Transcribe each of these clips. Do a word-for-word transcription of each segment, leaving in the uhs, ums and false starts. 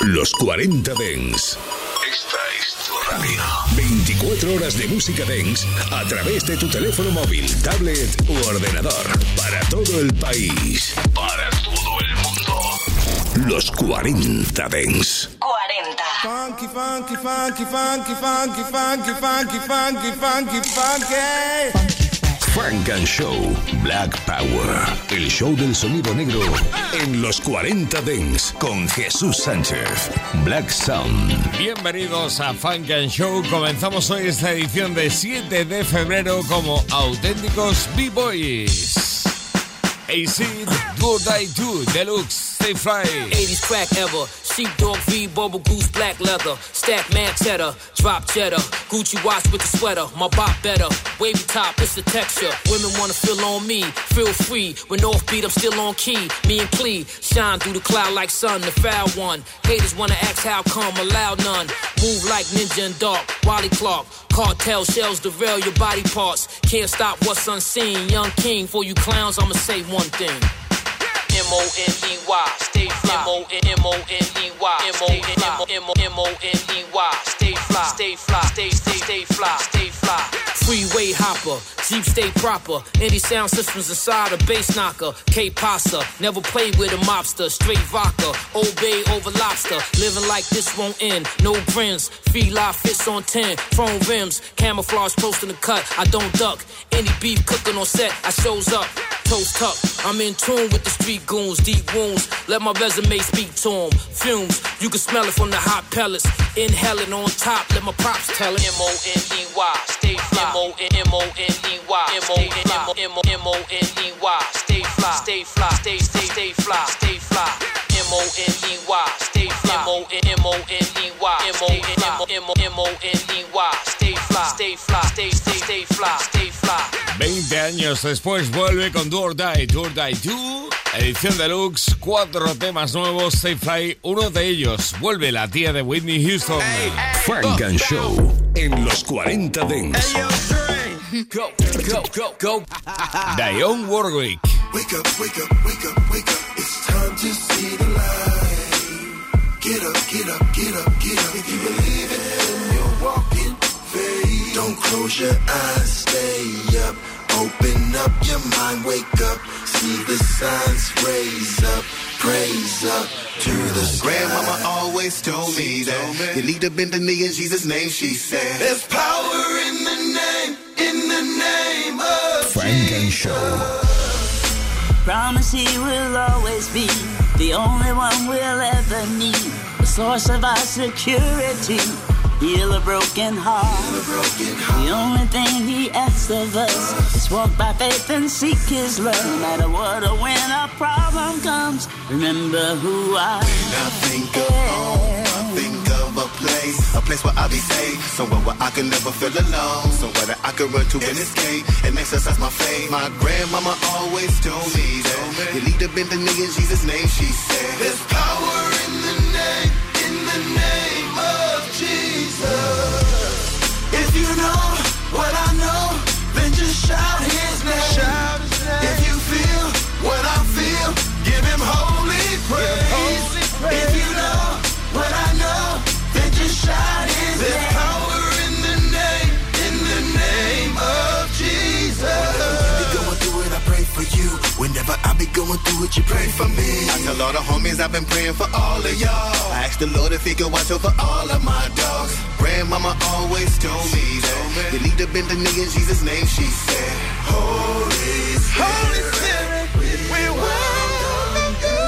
Los cuarenta Dance. Esta es tu radio. veinticuatro horas de música dance a través de tu teléfono móvil, tablet u ordenador. Para todo el país. Para todo el mundo. Los cuarenta Dance. cuarenta. Funky, funky, funky, funky, funky, funky, funky, funky, funky, funky. Funk and Show Black Power, el show del sonido negro en los cuarenta Dance con Jesús Sánchez. Black Sound. Bienvenidos a Funk and Show. Comenzamos hoy esta edición de siete de febrero como auténticos B-Boys. Acid, Do or Die Do, Deluxe, Stay Fly. eighties crack ever. Sheepdog V, Bubble Goose, black leather. Stack man cheddar, drop cheddar. Gucci watch with the sweater, my bop better. Wavy top, it's the texture. Women wanna feel on me, feel free. When offbeat, I'm still on key. Me and Clee, shine through the cloud like sun, the foul one. Haters wanna ask how come, allow none. Move like ninja and dark, Wally Clark. Cartel shells derail your body parts. Can't stop what's unseen. Young king, for you clowns, I'ma say one thing. M O N E Y, stay fly. M O N M O N E Y, M O N M O N E Y, stay fly, stay fly, stay stay stay fly, stay fly. Freeway hopper, Jeep stay proper. Any sound systems inside a bass knocker. K-Pasa, never played with a mobster. Straight vodka, Old Bay over lobster. Living like this won't end. No friends, feed live fits on ten. Chrome rims, camouflage close in the cut. I don't duck. Any beef cooking on set, I shows up. Toast tuck, I'm in tune with the street goons, deep wounds. Let my resume speak to them. Fumes, you can smell it from the hot pellets. Inhale it on top, let my props tell it. M O N E Y, stay fly. M O N M O N E Y, M O N M O N E Y, stay fly, stay fly, stay stay stay fly, stay fly. M O N E Y, stay fly. M O N M O N E Y, M O N M O N E Y, stay fly, stay fly, stay stay stay fly, stay fly. veinte años después vuelve con Do or Die, Do or Die Do, edición deluxe, cuatro temas nuevos, Stay Fly, uno de ellos, vuelve la tía de Whitney Houston. Hey, hey, Funk and Show en los cuarenta Dance. Hey, go, go, go, go. Dionne Warwick. Wake up, wake up, wake up, wake up. It's time to see the light. Get up, get up, get up, get up. If you believe it, then you're walking faith. Don't close your eyes, stay up. Open up your mind, wake up. See the signs, raise up, praise up to the sky. Grandmama always told me that you need to bend the knee in Jesus' name, she said. There's power in the name, in the name of Funk and Show. Promise he will always be the only one we'll ever need. The source of our security. Heal a broken heart. a broken heart. The only thing he asks of us is walk by faith and seek his love. No matter what or when a problem comes, remember who I am. When I think of home, I think of a place, a place where I'll be safe, somewhere where I can never feel alone, somewhere that I can run to and escape and exercise my faith. My grandmama always told me that you need to bend the knee in Jesus' name, she said. There's power in the name, in the name of Jesus. If you know what I know, then just shout his name. Shout his name. If you feel what I feel, give him holy praise. Holy praise. If you know what I know, then just shout his There's name. There's power in the name, in the name of Jesus. Whenever you be going through it, I pray for you. Whenever I be going through it, you pray for me. I tell all the homies I've been praying for all of y'all. I ask the Lord if he can watch over all of my dogs. Grandmama always told me that you need to bend the knee in Jesus' name, she said. Holy Spirit, Holy Spirit, we welcome you.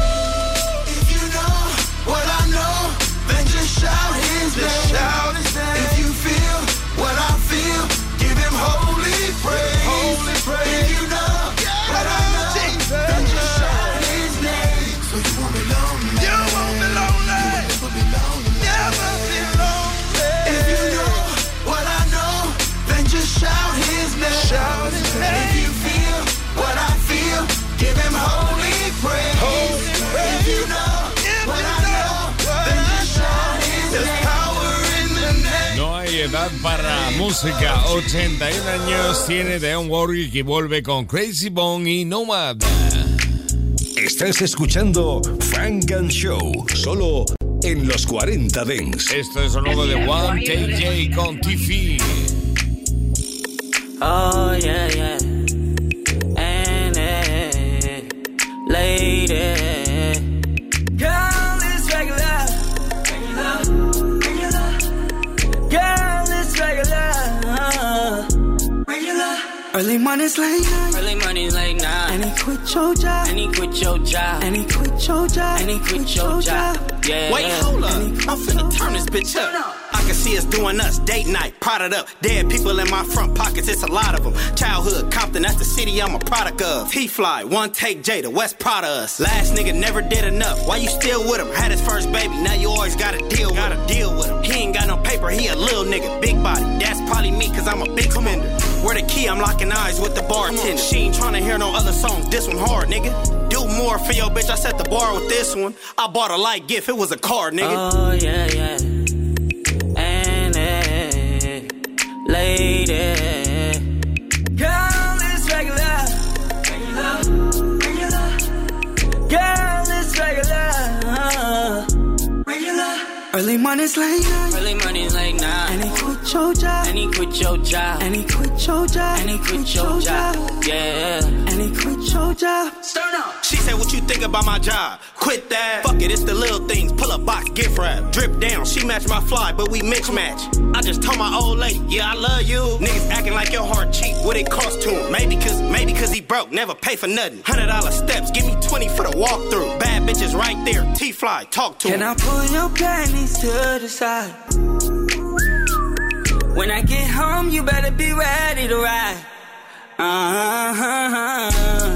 If you know what I know, then just shout his name. Just shout his name. If you feel what I feel, give him holy praise. Holy praise. If you know what I know, then just shout his name. So you won't be lonely. You won't be lonely. You will never be lonely. Never be lonely. If you know what I know, then just shout his name. Shout his name. If you feel what I feel, give him holy praise. Holy praise. If you know what I know, then just shout his name. There's power in the name. No hay edad para música. ochenta y uno años tiene Dionne Warwick y vuelve con Crazy Bone y Nomad. Estás escuchando Funk and Show, solo en los cuarenta Dance. Esto es lo nuevo de One Take J con Tiffy. Oh, yeah, yeah. And, uh, lady. Girl, it's regular. Regular. Regular. Girl, it's regular. Regular. Early mornings late night. Early mornings late night. And he quit your job. And he quit your job. And he quit your job. And he quit your job. Yeah. Wait, hold up. I'm finna turn this bitch up. I can see us doing us, date night, prodded up. Dead people in my front pockets, it's a lot of them. Childhood, Compton, that's the city I'm a product of. T-Fly, One Take J, the West proud of us. Last nigga never did enough. Why you still with him? Had his first baby, now you always gotta deal with him. Gotta deal with him. He ain't got no paper, he a little nigga, big body. That's probably me, cause I'm a big spender. Where the key, I'm locking eyes with the bartender. She ain't tryna hear no other songs, this one hard, nigga. Do more for your bitch, I set the bar with this one. I bought a light gift, it was a car, nigga. Oh, yeah, yeah. Lady, girl, it's regular. Regular, regular. Girl, it's regular. Regular. Early mornings late night. Early mornings late night. And he quit your job. And he quit your job. And he quit your job. And he quit your job. Yeah. And he quit your job. Start up. She said, what you think about my job? Quit that. Fuck it, it's the little things. Pull up box, gift wrap. Drip down, she match my fly, but we mix match. I just told my old lady, yeah, I love you. Niggas acting like your heart cheap. What it cost to him? Maybe cause, maybe cause he broke. Never pay for nothing. Hundred dollar steps, give me twenty for the walkthrough. Bad bitches right there. T-Fly, talk to Can him. I pull your panties to the side? When I get home, you better be ready to ride. Uh-huh.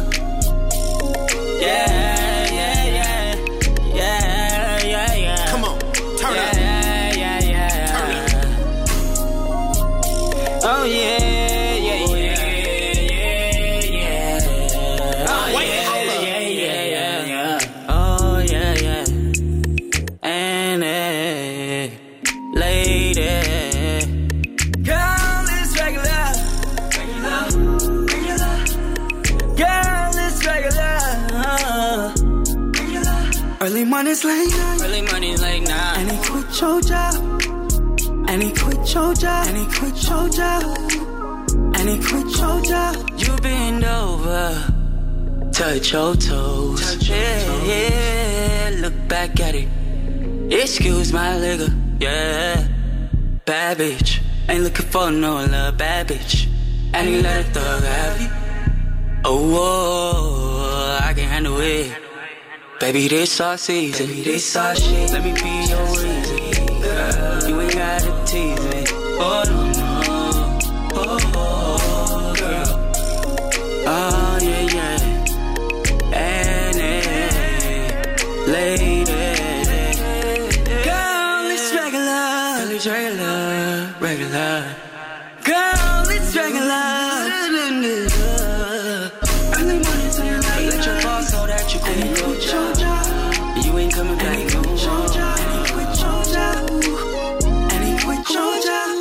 Yeah, yeah, yeah. Yeah, yeah, yeah. Come on, turn yeah, up. Yeah, yeah, yeah. Turn up. Oh, yeah, yeah, yeah, yeah, yeah. Oh, Wait, yeah, hold up. yeah, yeah, yeah, yeah. Oh, yeah, yeah. And, uh, lady. Girl, it's regular. Regular. Regular. Girl, it's regular. Regular. Early mornings late night. Early mornings late night. And he quit your job. And he quit your job. And he quit your job. And he quit your job. You bend over. Touch your toes. Touch your yeah, toes. Yeah. Look back at it. Excuse my nigga. Yeah. Bad bitch. Ain't looking for no love. Bad bitch. And he let a thug have it. Oh, oh, I can handle it. Baby, this our season. Baby, this our shit. Let me be your reason. Girl, you ain't gotta tease me. Oh, no, no. Oh, oh, girl. Oh, yeah, yeah. And, and, lady. Girl, it's regular. Girl, it's regular. Regular. Girl, it's regular. Early mornings and late night. Let your boss know that you quit your job. You ain't coming back no more. And he quit your job. And he quit your job.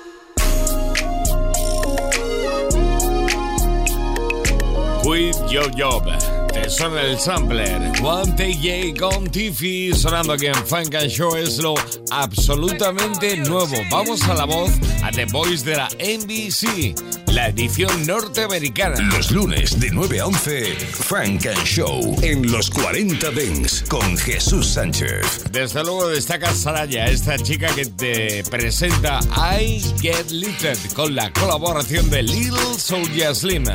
Quit Your Job. Te suena el sampler. One Take J con Tiffy sonando aquí en Funk and Show. Es lo absolutamente nuevo. Vamos a la voz, a The Voice de la N B C, la edición norteamericana. Los lunes de nueve a once, Funk and Show en los cuarenta Dance con Jesús Sánchez. Desde luego destaca Saraya, esta chica que te presenta I Get Lifted con la colaboración de Lil Soulja Slim.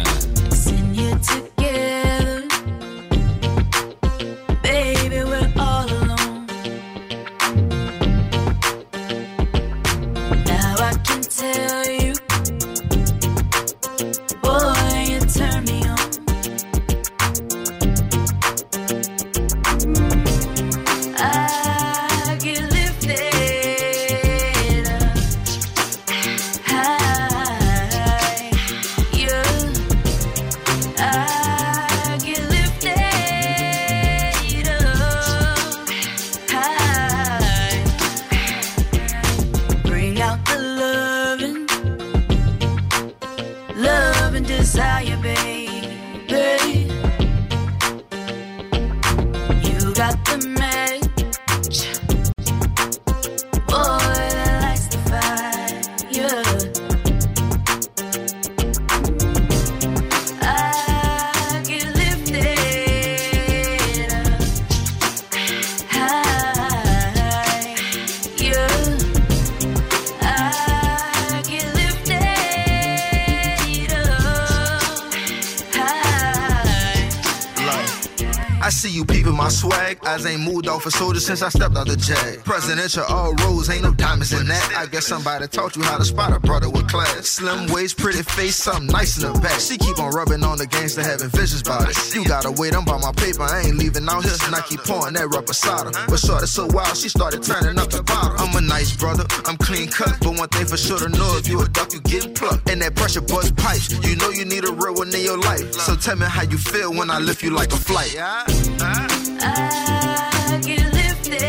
my swag, eyes ain't moved off a soldier since I stepped out the jag. Presidential all rose, ain't no diamonds in that. I guess somebody taught you how to spot a brother with class. Slim waist, pretty face, something nice in the back. She keep on rubbing on the gangster, having visions about it. You gotta wait, I'm by my paper, I ain't leaving out here. And I keep pouring that reposado. But shorty so wild, she started turning up the bottle. I'm a nice brother, I'm clean cut. But one thing for sure to know, if you a duck, you getting plucked. And that pressure bust pipes, you know you need a real one in your life. So tell me how you feel when I lift you like a flight. Yeah? Uh, I get lifted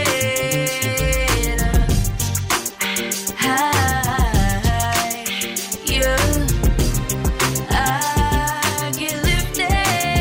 high, yeah. I get lifted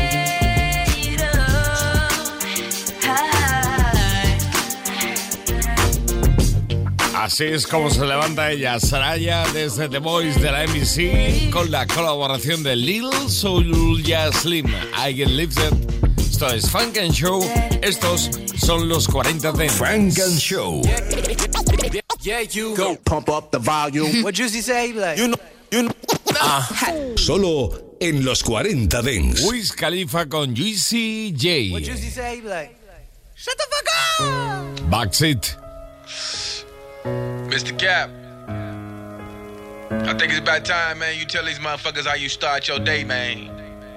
high. Así es como se levanta ella, Saraya, desde The Voice de la M B C, con la colaboración de Lil Soulja Slim. I Get Lifted. Esto es Funk and Show. Estos son los cuarenta Dents. Funk and Show. Yeah, yeah, you go pump up the volume. What Juicy say? Like, you know, you know. Uh. Solo en los cuarenta Dents. Wiz Khalifa con Juicy J. What Juicy say? Like, shut the fuck up. Backseat. Mister Cap, I think it's about time, man, you tell these motherfuckers how you start your day, man.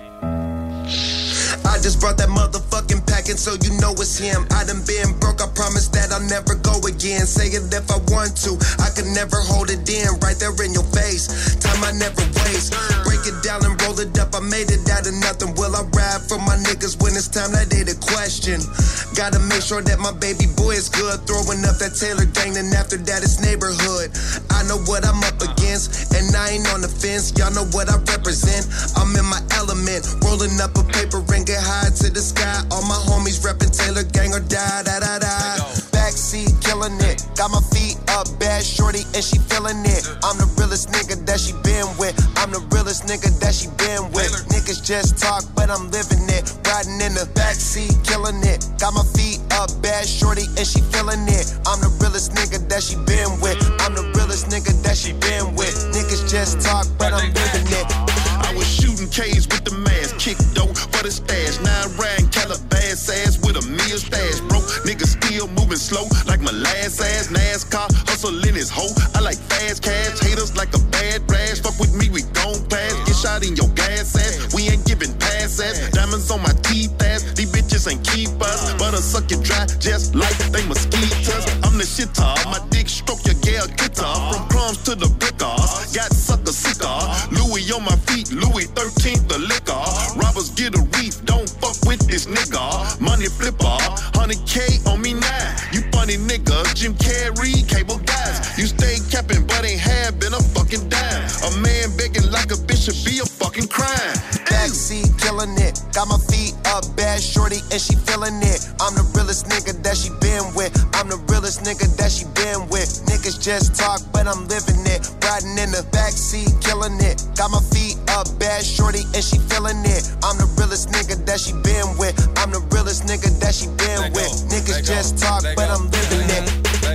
I just brought that motherfucking packet, so you know it's him. I done been broke, I promise that I'll never go again. Say it if I want to, I could never hold it in. Right there in your face, time I never waste. Break it down and roll it up, I made it out of nothing. Will I ride for my niggas when it's time? That ain't a question. Gotta make sure that my baby boy is good. Throwing up that Taylor gang, and after that it's neighborhood. I know what I'm up against, and I ain't on the fence. Y'all know what I represent. I'm in my element, rolling up a paper ring, get high to the sky. All my homies reppin' Taylor gang or die, da da da. Backseat killing it, got my feet up, bad shorty and she feeling it. I'm the realest nigga that she been with. I'm the realest nigga that she been with. Niggas just talk, but I'm living it. Riding in the backseat, killing it. Got my feet up, bad shorty and she feeling it. I'm the realest nigga that she been with. I'm the realest nigga that she been with. Niggas just talk, but I'm living it. I was shooting K's with the mask, kick dope for the stash. Now I'm riding Calabas ass with a meal stash. Broke niggas still moving slow like my last ass. NASCAR hustle in his hoe. I like fast cash, haters like a bad rash. Fuck with me, we gon' pass. Get shot in your gas ass. We ain't giving pass ass. Diamonds on my teeth ass. These bitches ain't keep us. But I suck it dry just like they mosquitoes. I'm the shitter. My dick stroke your gal guitar. From crumbs to the brickers. Got sucker sicker. Louis on my feet. Louis thirteenth the liquor. Robbers get a reef, don't fuck with this nigga. Money flipper, one hundred K on me now. You funny nigga, Jim Carrey, cable guys. You stay capping but ain't have been a fucking dime. A man begging like a bitch should be a fucking crime. Backseat killing it, got my feet up, bad shorty and she feeling it. I'm the realest nigga that she been with. I'm the realest nigga that she been with. Niggas just talk, but I'm living it. Riding in the backseat, killing it. Got my feet up, bad shorty and she feeling it. I'm the realest nigga that she been with. I'm the realest nigga that she been with. Niggas just talk, but I'm living it.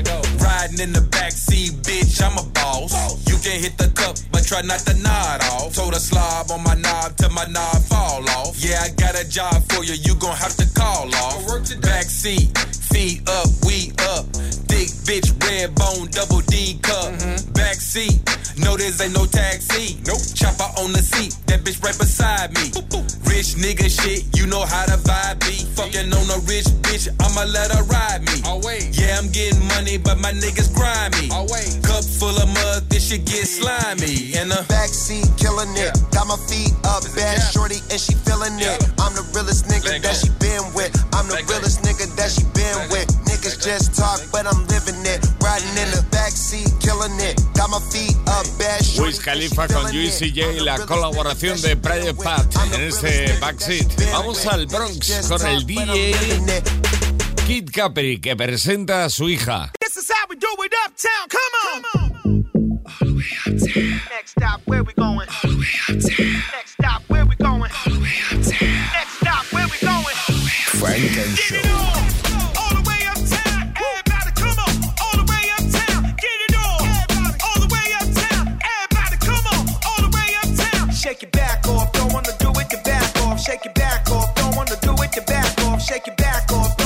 Riding in the backseat, bitch, I'm a boss. You can hit the cup, but try not to nod off. Told a slob on my knob till my knob fall off. Yeah, I got a job for you, you gon' have to call off. Backseat, feet up, we up. Thick bitch, red bone, double D cup. Mm-hmm. Backseat, no this ain't no taxi. Nope. Chopper on the seat, that bitch right beside me. Boop, boop. Rich nigga shit, you know how the vibe be. Fucking on a rich bitch, I'ma let her ride me. Oh, wait. Yeah, I'm getting money, but my niggas grimy. Oh, wait. Cup full of mud, this shit get slimy. In the backseat, killing it. Yeah. Got my feet up, bad yeah. shorty, and she feeling yeah. it. I'm the realest nigga Let that go. She been with. I'm the Let realest go. Nigga that she been Let with. Go. Niggas Let just go. Talk, but I'm living it. Riding in the backseat, killing it. Got my feet up, bad shorty. Wiz Khalifa con Juicy J, la colaboración de Private Pat en este backseat. Vamos al Bronx con el D J Kid Capri, que presenta a su hija. This is how we do it uptown, come on! All the way uptown. Next stop, where we going? All the way uptown. Next stop, where we going? All the way uptown. Next stop, where we going? All the way uptown. Funk and Show. All the way uptown. Everybody come on. All the way uptown. Get it on. All the way uptown. Everybody come on. All the way uptown. Shake your back off, don't wanna do it, your back off. Shake your back off, don't wanna do it, your back off. Shake your back off.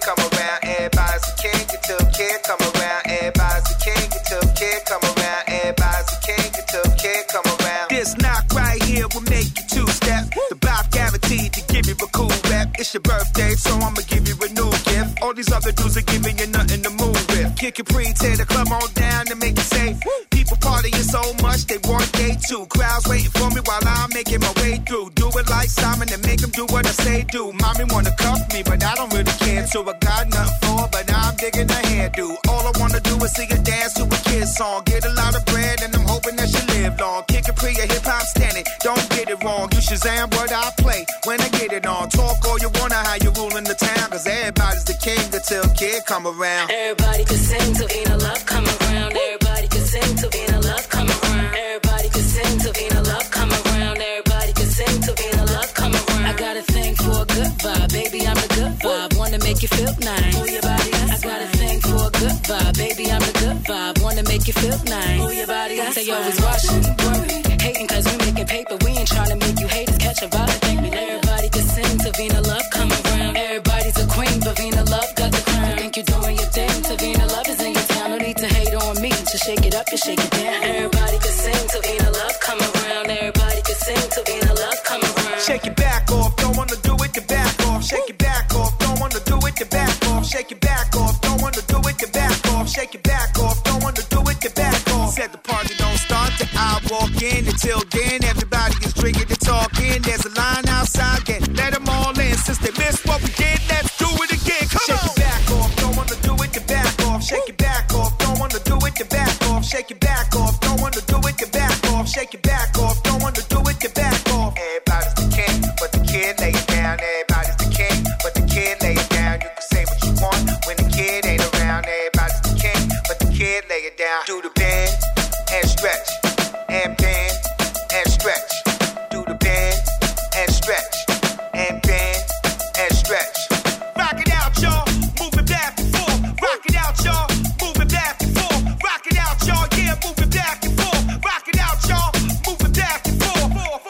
come around. Everybody's a king until kid come around. Everybody's a king until kid come around. Everybody's a king until kid come around. This knock right here will make you two-step. The Bob guaranteed to give you a cool rep. It's your birthday, so I'ma give you a new gift. All these other dudes are giving you nothing to move with. Kid Capri, tear the club on down to make it safe. People partying so much they want day two. Crowds waiting for me while I'm making my way through. Do it like Simon and make them do what I say do. Mommy wanna cuff me, but I don't really care. So I got nothing for her, but I'm digging her hairdo. All I wanna do is see her dance to a kid song. Get a lot of bread and I'm hoping that she live long. Kid Capri, a hip hop standard. Don't get it wrong. You Shazam what I play when I get it on. Talk all you wanna, how you ruling the town. Cause everybody's the king until kid come around. Everybody can sing to Vina Love come around. Everybody can sing to Vina Love come around. Everybody can sing to Vina Love come around. Everybody can sing to Vina Love come around. I got a thing for a good vibe, baby, I'm the good vibe. Wanna make you feel nice. Move your body, I got a thing for a good vibe, baby, I'm the good vibe. Wanna make you feel nice. Move your body, they always watching, worried, hating cause we making paper. We ain't trying to make you haters catch a vibe. Think me, everybody can sing to Vina Love come around. Everybody's a queen, but Vina Love got the crown. You think you're doing your thing, to Vina Love is in your town. No need to hate on me, just shake it up and shake it down. Everybody can sing to Vina Love come around. Everybody can sing to Vina Love come around. Shake your back off, don't wanna do it, the back off. Shake your back off, don't wanna do it, the back off. Shake your back off, don't wanna do it, the back off. Shake your back off, don't wanna do it, the back off. Said the party don't start till I walk in. Until then, everybody is drinking and talking. There's a line outside, get let them all in. Since they missed what we did, let's do it again. Come Shake on. Your back off, don't wanna do it, the back off. Shake your back off, don't wanna do it, the back off. Shake your back off, don't wanna do it, the back off. Shake your back off, don't wanna do it, the back off. Everybody's the king, but the kid lay it down. Everybody's the king, but the kid lay it down. You can say what you want when the kid ain't around. Everybody's the king, but the kid lay it down. Do the bend and stretch, and bend and stretch. Do the bend and stretch, and bend and stretch. Rock it out, y'all. Move it back and forth. Rock it out, y'all. Move it back and forth. Rock it out, y'all. Yeah, move it back and forth. Rock it out, y'all. Move it back and forth.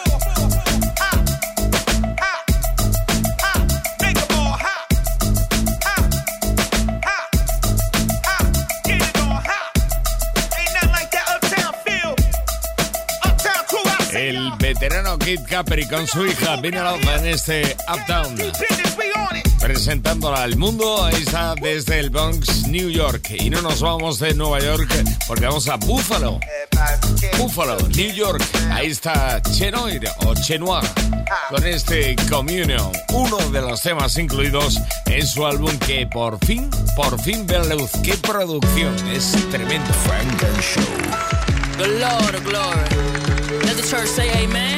Hop, hop, hop. Make 'em all hop, hop, hop, hop. Get it on hop. Ain't nothing like that uptown feel. Uptown crew, I say El veterano Kid Capri con su hija Vina Love en este Uptown, presentándola al mundo. Ahí está desde el Bronx, New York. Y no nos vamos de Nueva York porque vamos a Buffalo. Buffalo, New York. Ahí está Chenoir o Chenoir con este Communion, uno de los temas incluidos en su álbum que por fin, por fin ve la luz. ¡Qué producción! Es tremendo. Funk and Show. Glory, glory. Let the church say amen.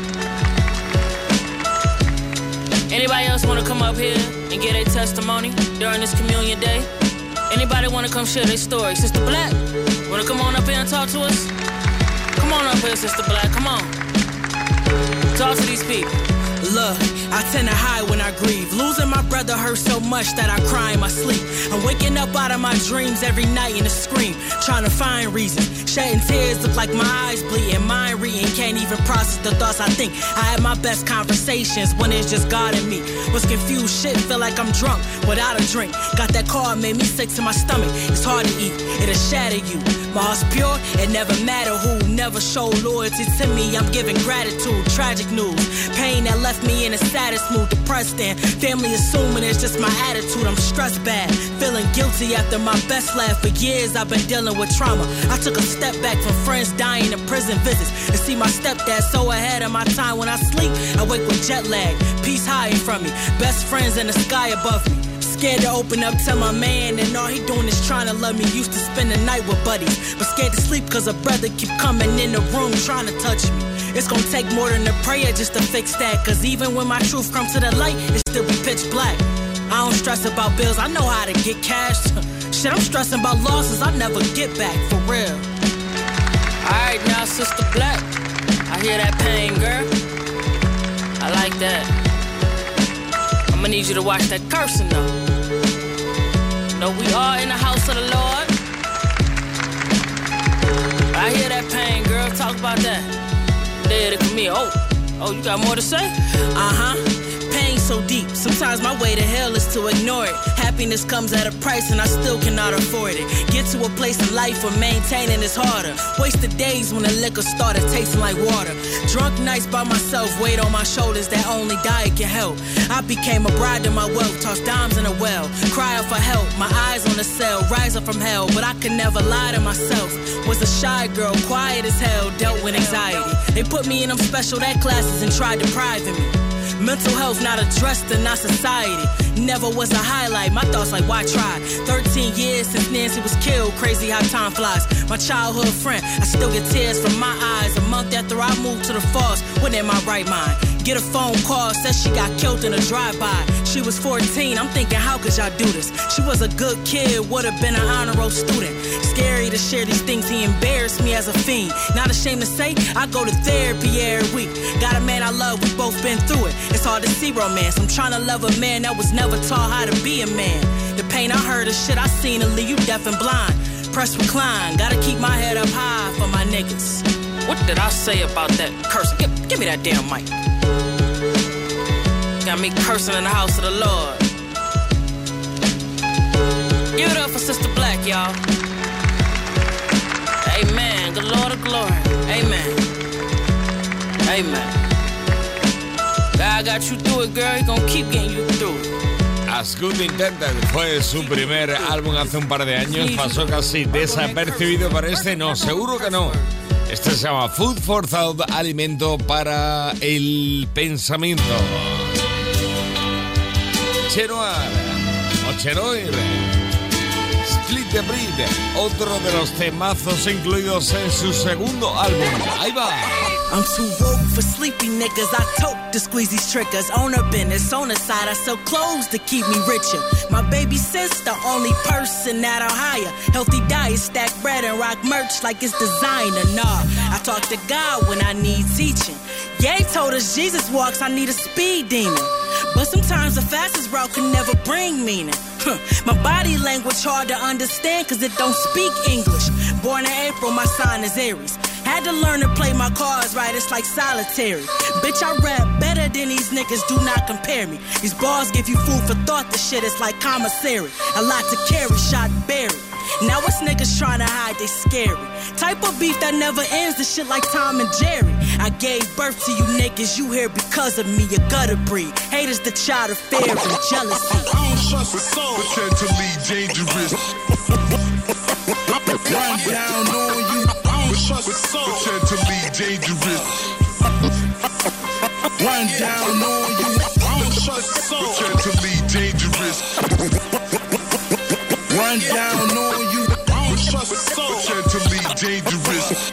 Anybody else want to come up here and get a testimony during this communion day? Anybody want to come share their story? Sister Black, want to come on up here and talk to us? Come on up here, Sister Black, come on. Talk to these people. Look, I tend to hide when I grieve. Losing my brother hurts so much that I cry in my sleep. I'm waking up out of my dreams every night in a scream, trying to find reasons. Shedding tears look like my eyes bleeding. Mind reading, can't even process the thoughts I think. I had my best conversations when it's just God and me. Was confused, shit, feel like I'm drunk without a drink. Got that car, made me sick to my stomach. It's hard to eat, it'll shatter you. My heart's pure, it never matter who. Never show loyalty to me, I'm giving gratitude. Tragic news, pain that left me in the saddest mood. Depressed and family assuming it's just my attitude. I'm stressed bad, feeling guilty after my best laugh. For years I've been dealing with trauma. I took a step back from friends dying and prison visits. To see my stepdad so ahead of my time. When I sleep, I wake with jet lag. Peace hiding from me, best friends in the sky above me. Scared to open up to my man, and all he doing is trying to love me. Used to spend the night with buddies, but scared to sleep cause a brother keep coming in the room trying to touch me. It's gonna take more than a prayer just to fix that, cause even when my truth comes to the light, it still be pitch black. I don't stress about bills, I know how to get cash. Shit, I'm stressing about losses I never get back, for real. Alright now, Sister Black, I hear that pain, girl. I like that. I'ma need you to watch that cursing though. No, we are in the house of the Lord. I hear that pain, girl. Talk about that. There to come here. Oh, oh, you got more to say? Uh-huh. Pain so deep. Sometimes my way to hell is to ignore it. Happy Happiness comes at a price and I still cannot afford it. Get to a place in life where maintaining is harder. Wasted days when the liquor started tasting like water. Drunk nights by myself, weight on my shoulders that only diet can help. I became a bride to my wealth, toss dimes in a well. Cry out for help, my eyes on the cell, rise up from hell. But I could never lie to myself. Was a shy girl, quiet as hell, dealt with anxiety. They put me in them special ed classes and tried depriving me. Mental health not addressed in our society. Never was a highlight, my thoughts like why try? thirteen years since Nancy was killed, crazy how time flies. My childhood friend, I still get tears from my eyes. A month after I moved to the falls, when in my right mind. Get a phone call, says she got killed in a drive-by. She was fourteen, I'm thinking how could y'all do this? She was a good kid, would've been an honor roll student. Scary to share these things, he embarrassed me as a fiend. Not ashamed to say, I go to therapy every week. Got a man I love, we both been through it. It's hard to see romance, I'm trying to love a man that was never taught how to be a man. The pain I heard, the shit I seen to leave you deaf and blind. Press recline, gotta keep my head up high for my niggas. What did I say about that cursing? Give, give me that damn mic. Got me cursing in the house of the Lord. Give it up for Sister Black, y'all. Amen. Good Lord of glory. Amen. Amen. God got you through it, girl. He gonna keep getting you through it. As Good Intended fue su primer álbum hace un par de años. Pasó casi desapercibido, para este no, seguro que no. Este se llama Food for Thought, alimento para el pensamiento. Chenoir o Chenoir, Split the Breed, otro de los temazos incluidos en su segundo álbum. Ahí va. I'm too woke for sleepy niggas. I tote to squeeze these triggers. On her business, on the side, I sell clothes to keep me richer. My baby sister, only person that I'll hire. Healthy diet, stack bread and rock merch like it's designer. Nah, I talk to God when I need teaching. Ye told us Jesus walks, I need a speed demon. But sometimes the fastest route can never bring meaning. My body language hard to understand cause it don't speak English. Born in April, my sign is Aries. Had to learn to play my cards right, it's like solitary. Bitch, I rap better than these niggas, do not compare me. These bars give you food for thought, this shit is like commissary. A lot to carry, shot and buried. Now it's niggas trying to hide, they scary. Type of beef that never ends, this shit like Tom and Jerry. I gave birth to you niggas, you here because of me, you gutter breed. Haters the child of fear and jealousy. I don't trust a soul, potentially dangerous. Run down on you. I don't trust a soul, potentially dangerous. Run down on you. I don't trust a soul, potentially dangerous. Run down on you. I don't trust a soul, potentially dangerous.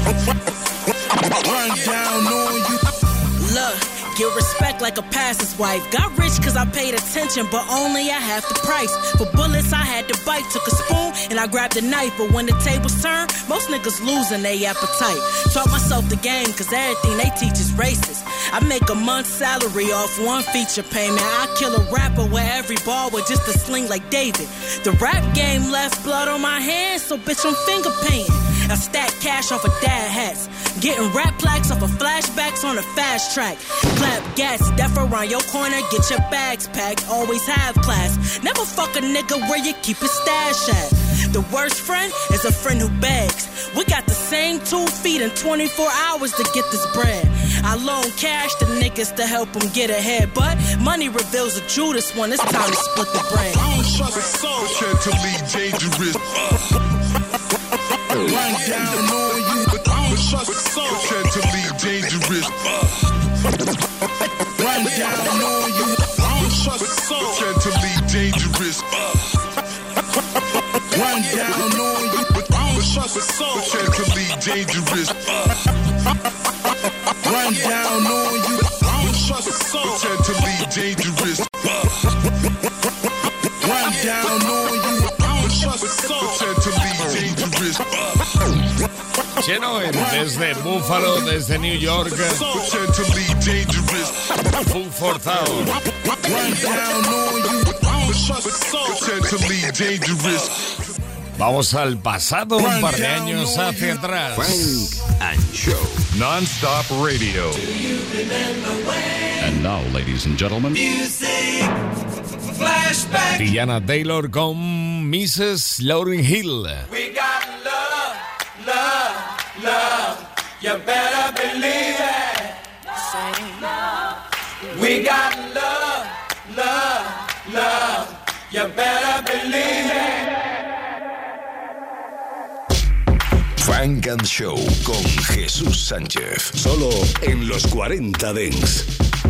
Run down on you. Look, get respect like a pastor's wife. Got rich cause I paid attention, but only at half the price. For bullets I had to bite, took a spoon and I grabbed a knife. But when the tables turn, most niggas losing their appetite. Taught myself the game cause everything they teach is racist. I make a month's salary off one feature payment. I kill a rapper with every ball with just a sling like David. The rap game left blood on my hands, so bitch I'm finger painting. I stack cash off of dad hats. Getting rap plaques off of flashbacks on a fast track. Clap gas, death around your corner, get your bags packed. Always have class. Never fuck a nigga where you keep his stash at. The worst friend is a friend who begs. We got the same two feet in twenty-four hours to get this bread. I loan cash to niggas to help them get ahead, but money reveals a Judas when it's time to split the bread. I don't trust a soul, potentially dangerous. Run down on you. I don't trust a soul, potentially dangerous. Run down on you. I don't trust a soul, potentially dangerous. Run down on you. I don't trust a soul, potentially dangerous. Run down on you. I don't trust a soul, potentially dangerous. Run down on you. I don't trust a soul, potentially dangerous. Chenoir, desde Buffalo, desde New York. Potentially dangerous. Food for Thought. Run down on you. I don't trust a soul, potentially dangerous. Vamos al pasado, un par de años hacia atrás. Funk and Show. Non-stop radio. And now, ladies and gentlemen, Music Tiana Taylor con missus Lauryn Hill. We got love, love, love. You better believe it. We got love, love, love. You better believe it. Funk and Show con Jesús Sánchez. Solo en los cuarenta Dance.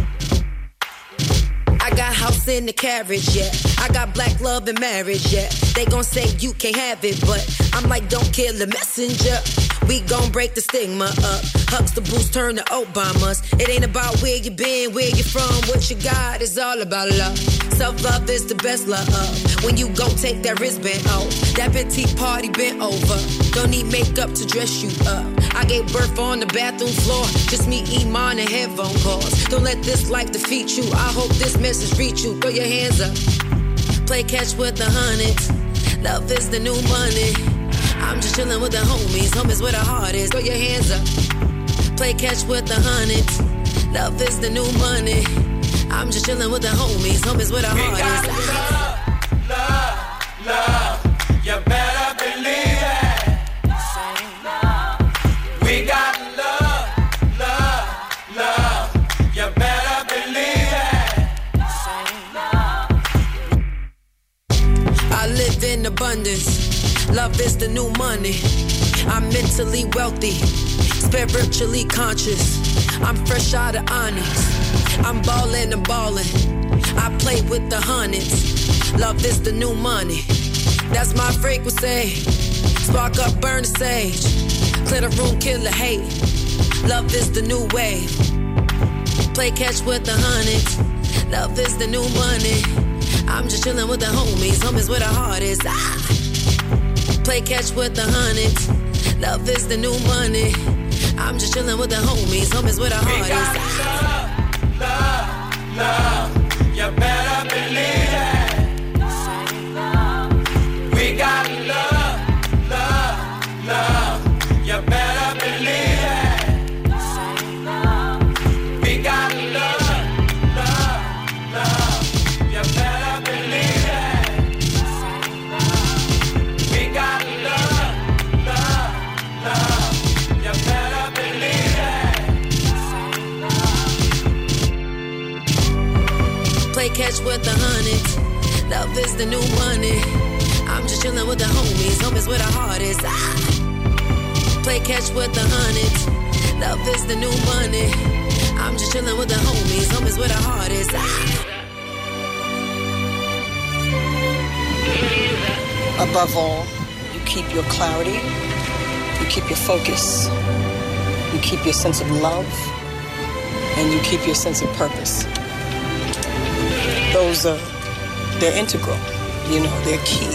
I got house in the carriage, yeah. I got black love and marriage, yeah. They gon' say you can't have it, but I'm like, don't kill the messenger. We gon' break the stigma up. Huxtables turn to Obamas. It ain't about where you been, where you from, what you got. It's all about love. Self-love is the best love. When you gon' take that wristband off, that petite party bent over. Don't need makeup to dress you up. I gave birth on the bathroom floor. Just me, Iman, and headphone calls. Don't let this life defeat you. I hope this message reach you. Throw your hands up. Play catch with the hundreds. Love is the new money. I'm just chillin' with the homies. Homies where the heart is. Throw your hands up. Play catch with the hundreds. Love is the new money. I'm just chillin' with the homies. Homies where the heart we got is. Love, love, love. You better believe it. We got love, love, love. You better believe it. I live in abundance. Love is the new money. I'm mentally wealthy, spiritually conscious. I'm fresh out of Onyx. I'm ballin' and ballin'. I play with the hundreds. Love is the new money. That's my frequency. Spark up, burn the sage. Clear the room, kill the hate. Love is the new wave. Play catch with the hundreds. Love is the new money. I'm just chillin' with the homies. Homies where the heart is. Ah. Play catch with the hundreds. Love is the new money. I'm just chillin' with the homies. Homies where the heart we got is. Love, love, love. You better believe it. We got love, love, love. You better believe it. We got love, love, love. You better believe it. We got love, love, love. You better believe it. Play catch with the hundreds. Love is the new money. I'm just chillin' with the homies. Homies where the heart is. Ah. Play catch with the hundreds. Love is the new money. I'm just chillin' with the homies. Homies where the heart is. Ah. Above all, you keep your clarity, you keep your focus, you keep your sense of love, and you keep your sense of purpose. Those are, they're integral, you know, they're key.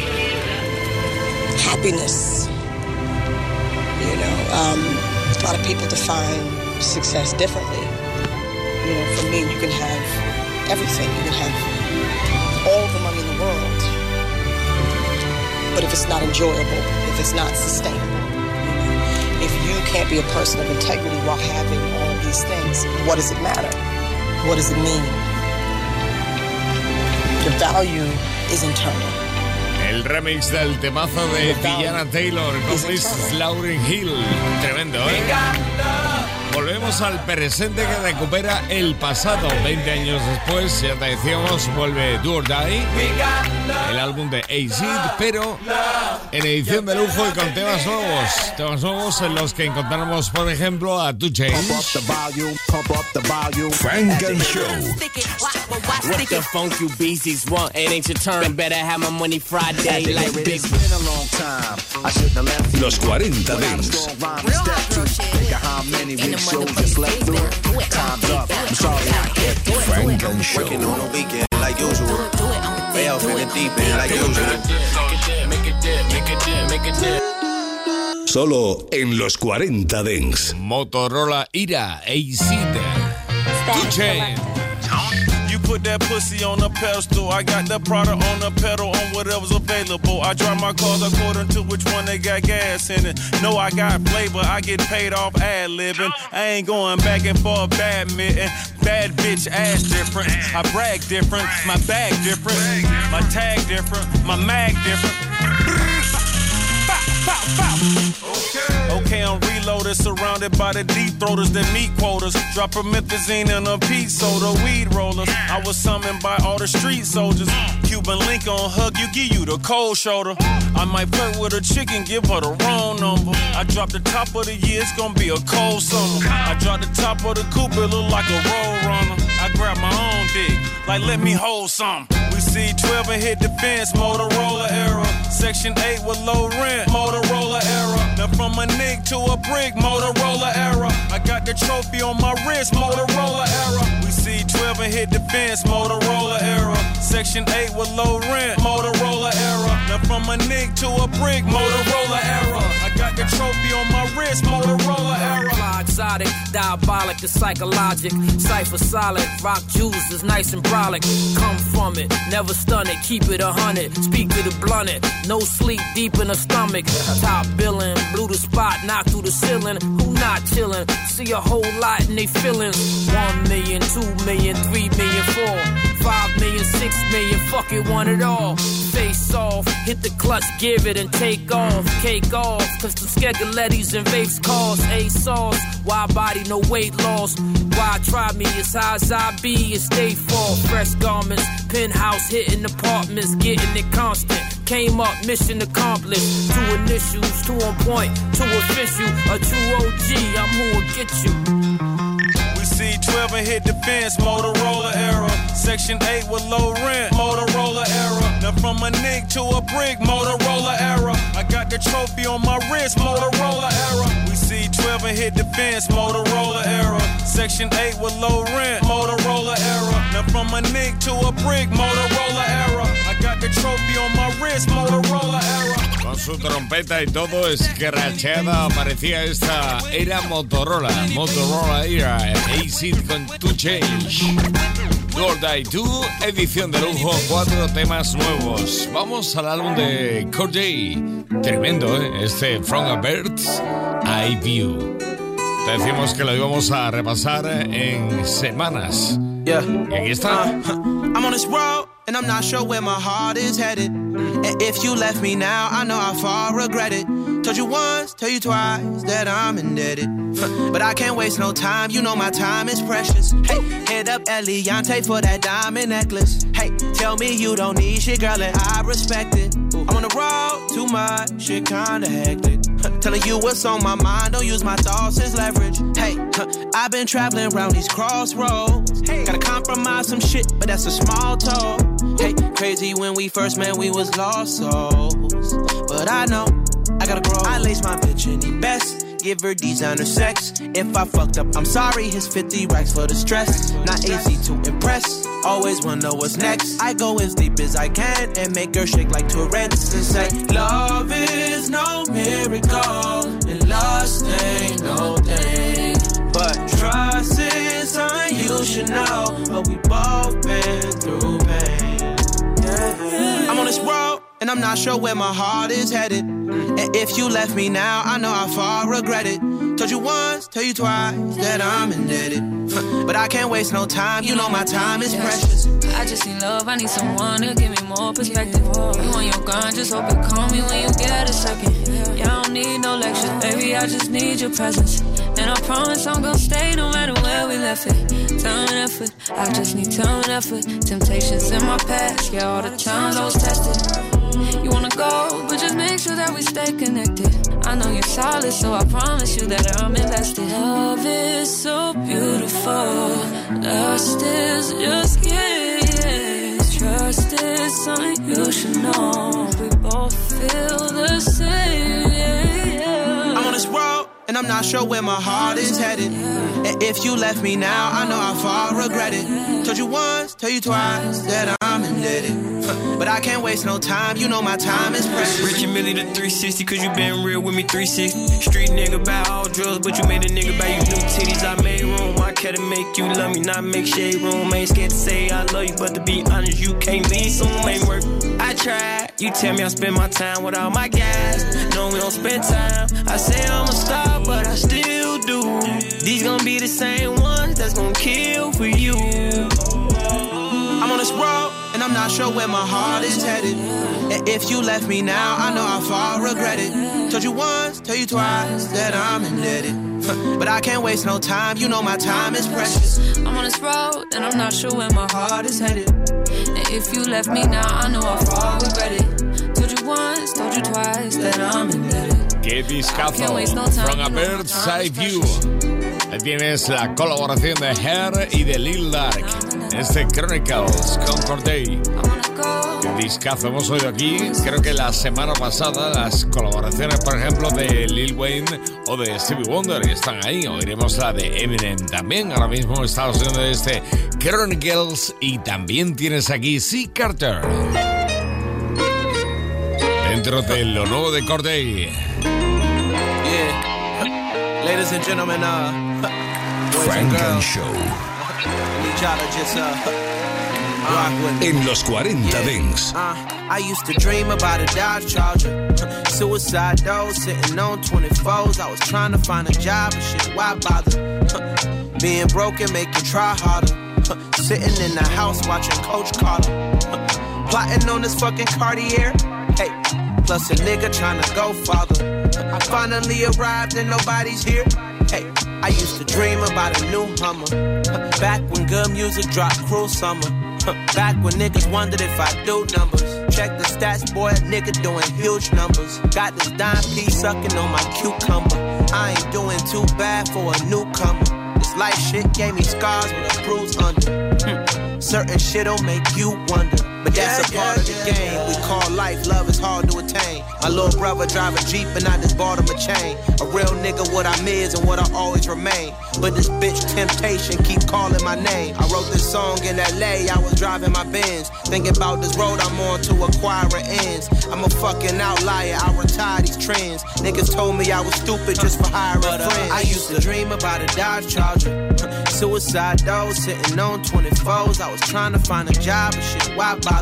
Happiness, you know, um, a lot of people define success differently. You know, for me, you can have everything. You can have all the money in the world, but if it's not enjoyable, if it's not sustainable, you know, if you can't be a person of integrity while having all these things, what does it matter? What does it mean? The value is internal. El remix del temazo de Tiana Taylor con Miss Lauryn Hill. Tremendo, ¿eh? Volvemos al presente que recupera el pasado. veinte años después, ya te decíamos, vuelve Do or Die, el álbum de A-Seed, pero en edición de lujo y con temas nuevos. Temas nuevos en los que encontramos, por ejemplo, a two Chainz. Funk and Show. What the funk you B Cs want? It ain't your turn. Better have my money Friday like big. It's been a long time. I shouldn't have left. Los cuarenta Dance. Shows just left through. Time's up. I'm sorry I can't do it. Funk and Show. Working on a weekend like usual. Way off in the deep end like usual. Make it dip, make it dip, make it dip. Solo en los cuarenta Dance. Motorola Ira, A-Seed, two Chainz. You put that pussy on a pedestal. I got that product on the pedal on whatever's available. I drive my cars according to which one they got gas in it. No, I got flavor. I get paid off ad-libbing. I ain't going back and forth badminton. Bad bitch ass different. I brag different. My bag different. My tag different. My mag different. Okay. Okay, I'm reloaded, surrounded by the deep throaters, the meat quotas. Drop promethazine in a Pete soda, weed rollers. I was summoned by all the street soldiers. Cuban link on hug you, give you the cold shoulder. I might flirt with a chicken, give her the wrong number. I drop the top of the year, it's gonna be a cold summer. I drop the top of the coupe, it look like a road runner. I grab my own dick, like let me hold some. We see twelve and hit the fence, Motorola era. Section eight with low rent, Motorola era. Now from a nick to a brick, Motorola era. I got the trophy on my wrist, Motorola era. We see twelve and hit the fence, Motorola era. Section eight with low rent, Motorola era. Now from a nick to a brick, Motorola era. I got the trophy on my wrist, Motorola era. Fly exotic, diabolic, the psychologic. Cypher solid, rock juice is nice and brolic. Come from it, never stun it, keep it a hundred. Speak to the blunted, no sleep deep in the stomach. Top billing, blew the spot, knocked through the ceiling. Who not chillin'? See a whole lot in they feelings. One million, two million, three million, four, five million, six million, fuck it, want it all. Face off, hit the clutch, give it and take off. Cake off, cause the Skegalettis and vapes cost A sauce. Why body, no weight loss. Why try me as high as I be and stay fall. Fresh garments, penthouse hitting apartments, getting it constant. Came up, mission accomplished. Two initials, two on point, two official. A true O G, I'm who'll get you. We see twelve and hit the fence, Motorola era. Section eight with low rent, Motorola era. Now from a nick to a brick, Motorola era. I got the trophy on my wrist, Motorola era. We see twelve and hit the fence, Motorola era. Section eight with low rent, Motorola era. Now from a nick to a brick, Motorola era. I got the trophy on my wrist, Motorola era. Con su trompeta y todo escrachada aparecía esta era Motorola, Motorola era A-Seed con two Change. Lord I Do, edición de lujo, cuatro temas nuevos. Vamos al álbum de Corday. Tremendo, ¿eh? Este From a Bird's Eye View. Te decimos que lo íbamos a repasar en semanas. Yeah. Y aquí está. Uh, I'm on this road and I'm not sure where my heart is headed. And if you left me now, I know how far I regret it. Told you once, tell you twice that I'm indebted. But I can't waste no time, you know my time is precious. Hey, hit up Eliante for that diamond necklace. Hey, tell me you don't need shit, girl, and I respect it. I'm on the road too much, shit kinda hectic. Telling you what's on my mind, don't use my thoughts as leverage. Hey, I've been traveling around these crossroads. Gotta compromise some shit, but that's a small toll. Hey, crazy when we first met, we was lost souls. But I know, I gotta grow. I lace my bitch in the best. Give her designer sex. If I fucked up, I'm sorry. Here's fifty racks for the stress. Not easy to impress. Always wonder what's next. I go as deep as I can and make her shake like Tourette's and say, love is no miracle and lust ain't no thing. But trust is something you should know. But we both been through pain. Yeah. I'm on this road and I'm not sure where my heart is headed. And if you left me now, I know how far I regret it. Told you once, tell you twice that I'm indebted. But I can't waste no time, you know my time is precious. I just need love, I need someone to give me more perspective. You on your grind, just hope you call me when you get a second. Yeah, I don't need no lectures, baby, I just need your presence. And I promise I'm gonna stay no matter where we left it. Time and effort, I just need time and effort. Temptations in my past, yeah, all the times I was tested. You wanna go, but just make sure that we stay connected. I know you're solid, so I promise you that I'm invested. Love is so beautiful. Lust is just kids. Trust is something you should know. We both feel the same. Yeah, yeah. I'm on this road, and I'm not sure where my heart is headed. And if you left me now, I know how far I regret it. Told you once, tell you twice that I'm indebted. But I can't waste no time, you know my time is precious. Rich and Millie the three sixty, cause you been real with me three sixty. Street nigga buy all drugs, but you made a nigga buy you new titties. I made room, I care to make you love me, not make shade room. Ain't scared to say I love you, but to be honest, you can't leave, so ain't work. I try. You tell me I spend my time with all my guys. No, we don't spend time. I say I'm a star, but I still do. These gon' be the same ones that's gon' kill for you. I'm on this road, and I'm not sure where my heart is headed. And if you left me now, I know how far I regret it. Told you once, tell you twice that I'm indebted. But I can't waste no time, you know my time is precious. I'm on this road, and I'm not sure where my heart is headed. And if you left me now, I know how far I regret it. Told you once, told you twice that I'm indebted. Qué discazo, From a Bird's Eye View. Ahí tienes la colaboración de Hair y de Lil Durk. Este Chronicles con Corday. Qué discazo hemos oído aquí. Creo que la semana pasada las colaboraciones, por ejemplo, de Lil Wayne o de Stevie Wonder están ahí. Oiremos la de Eminem también. Ahora mismo estamos oyendo este Chronicles y también tienes aquí C. Carter. Dentro de lo nuevo de Corday. Yeah. Ladies and gentlemen, uh, Funk and Show. Just, uh, rock with me. En los cuarenta yeah. Dance. Uh, I used to dream about a Dodge Charger. Suicide though, sitting on twenty-fours. I was trying to find a job and shit, why bother? Being broken make you try harder. Sitting in the house watching Coach Carter. Plotting on this fucking Cartier. Hey, plus a nigga trying to go farther. I finally arrived and nobody's here. Hey, I used to dream about a new Hummer. Back when good music dropped cruel summer. Back when niggas wondered if I do numbers. Check the stats, boy, a nigga doing huge numbers. Got this dime piece sucking on my cucumber. I ain't doing too bad for a newcomer. This life shit gave me scars with a bruise under. Hmm. Certain shit'll make you wonder. But that's yeah, a part yeah, of the yeah, game. Yeah. We call life, love is hard to attain. My little brother drive a Jeep and I just bought him a chain. A real nigga, what I'm is and what I always remain. But this bitch temptation keep calling my name. I wrote this song in L A, I was driving my Benz. Thinking about this road I'm on to acquire ends. I'm a fucking outlier, I retire these trends. Niggas told me I was stupid just for hiring but, uh, friends. I used to dream about a Dodge Charger. Suicide though, sitting on twenty-fours. I was trying to find a job and shit, why bother?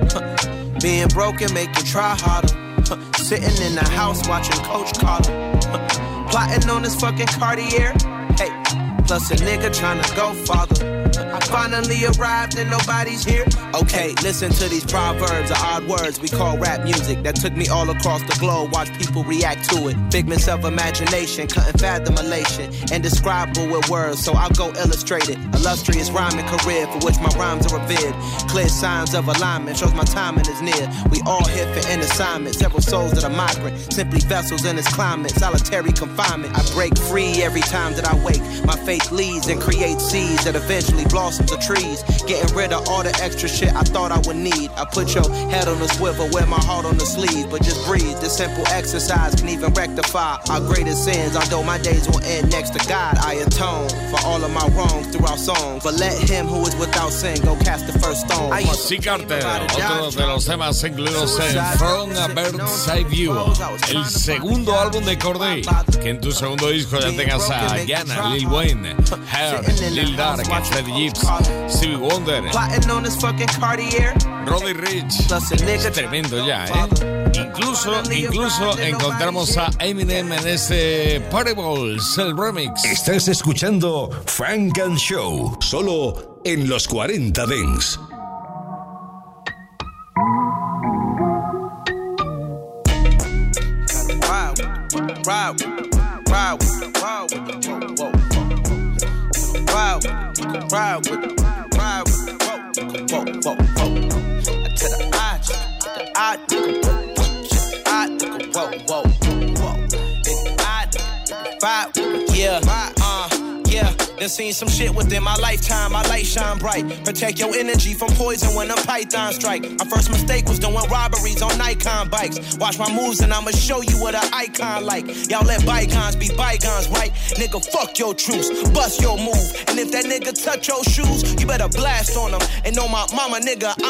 Being broken make you try harder. Sitting in the house watching Coach Carter. Plotting on this fucking Cartier. Hey, plus a nigga trying to go farther. I finally arrived and nobody's here. Okay, listen to these proverbs or odd words we call rap music that took me all across the globe. Watch people react to it. Figments of imagination, couldn't fathom elation. Indescribable with words, so I'll go illustrate it. Illustrious rhyming career for which my rhymes are revered. Clear signs of alignment, shows my timing is near. We all here for an assignment. Several souls that are migrant, simply vessels in this climate. Solitary confinement. I break free every time that I wake. My faith leads and creates seeds that eventually blossoms of trees. Getting rid of all the extra shit I thought I would need. I put your head on the swivel, wear my heart on the sleeve. But just breathe, this simple exercise can even rectify our greatest sins. Although my days will end next to God, I atone for all of my wrongs through our songs. But let him who is without sin go cast the first stone. C. Carter, otro de los temas incluidos en From a Bird's Eye View, el segundo álbum de Corday. Que en tu segundo disco ya tengas a Yana, Lil Wayne, Hair, Lil Durk, Freddie Gibbs, Stevie Wonder, Roddy Ricch. Es tremendo ya, ¿eh? Incluso, incluso encontramos a Eminem en este Parables, el remix. Estás escuchando Funk and Show, solo en los cuarenta Dance. Wow, wow, wow, wow, wow, wow, wow, whoa, whoa, whoa. To the eye, the eye, the eye, whoa, whoa, whoa. The eye, the vibe, yeah, uh, yeah. Done seen some shit within my lifetime. My light shine bright. Protect your energy from poison when them pythons strike. My first mistake was doing robberies on Nikon bikes. Watch my moves and I'ma show you what an icon like. Y'all let bygones be bygones, right? Nigga, fuck your truce, bust your move. And if that nigga touch your shoes, you better blast on him. And on my mama, nigga, I'ma get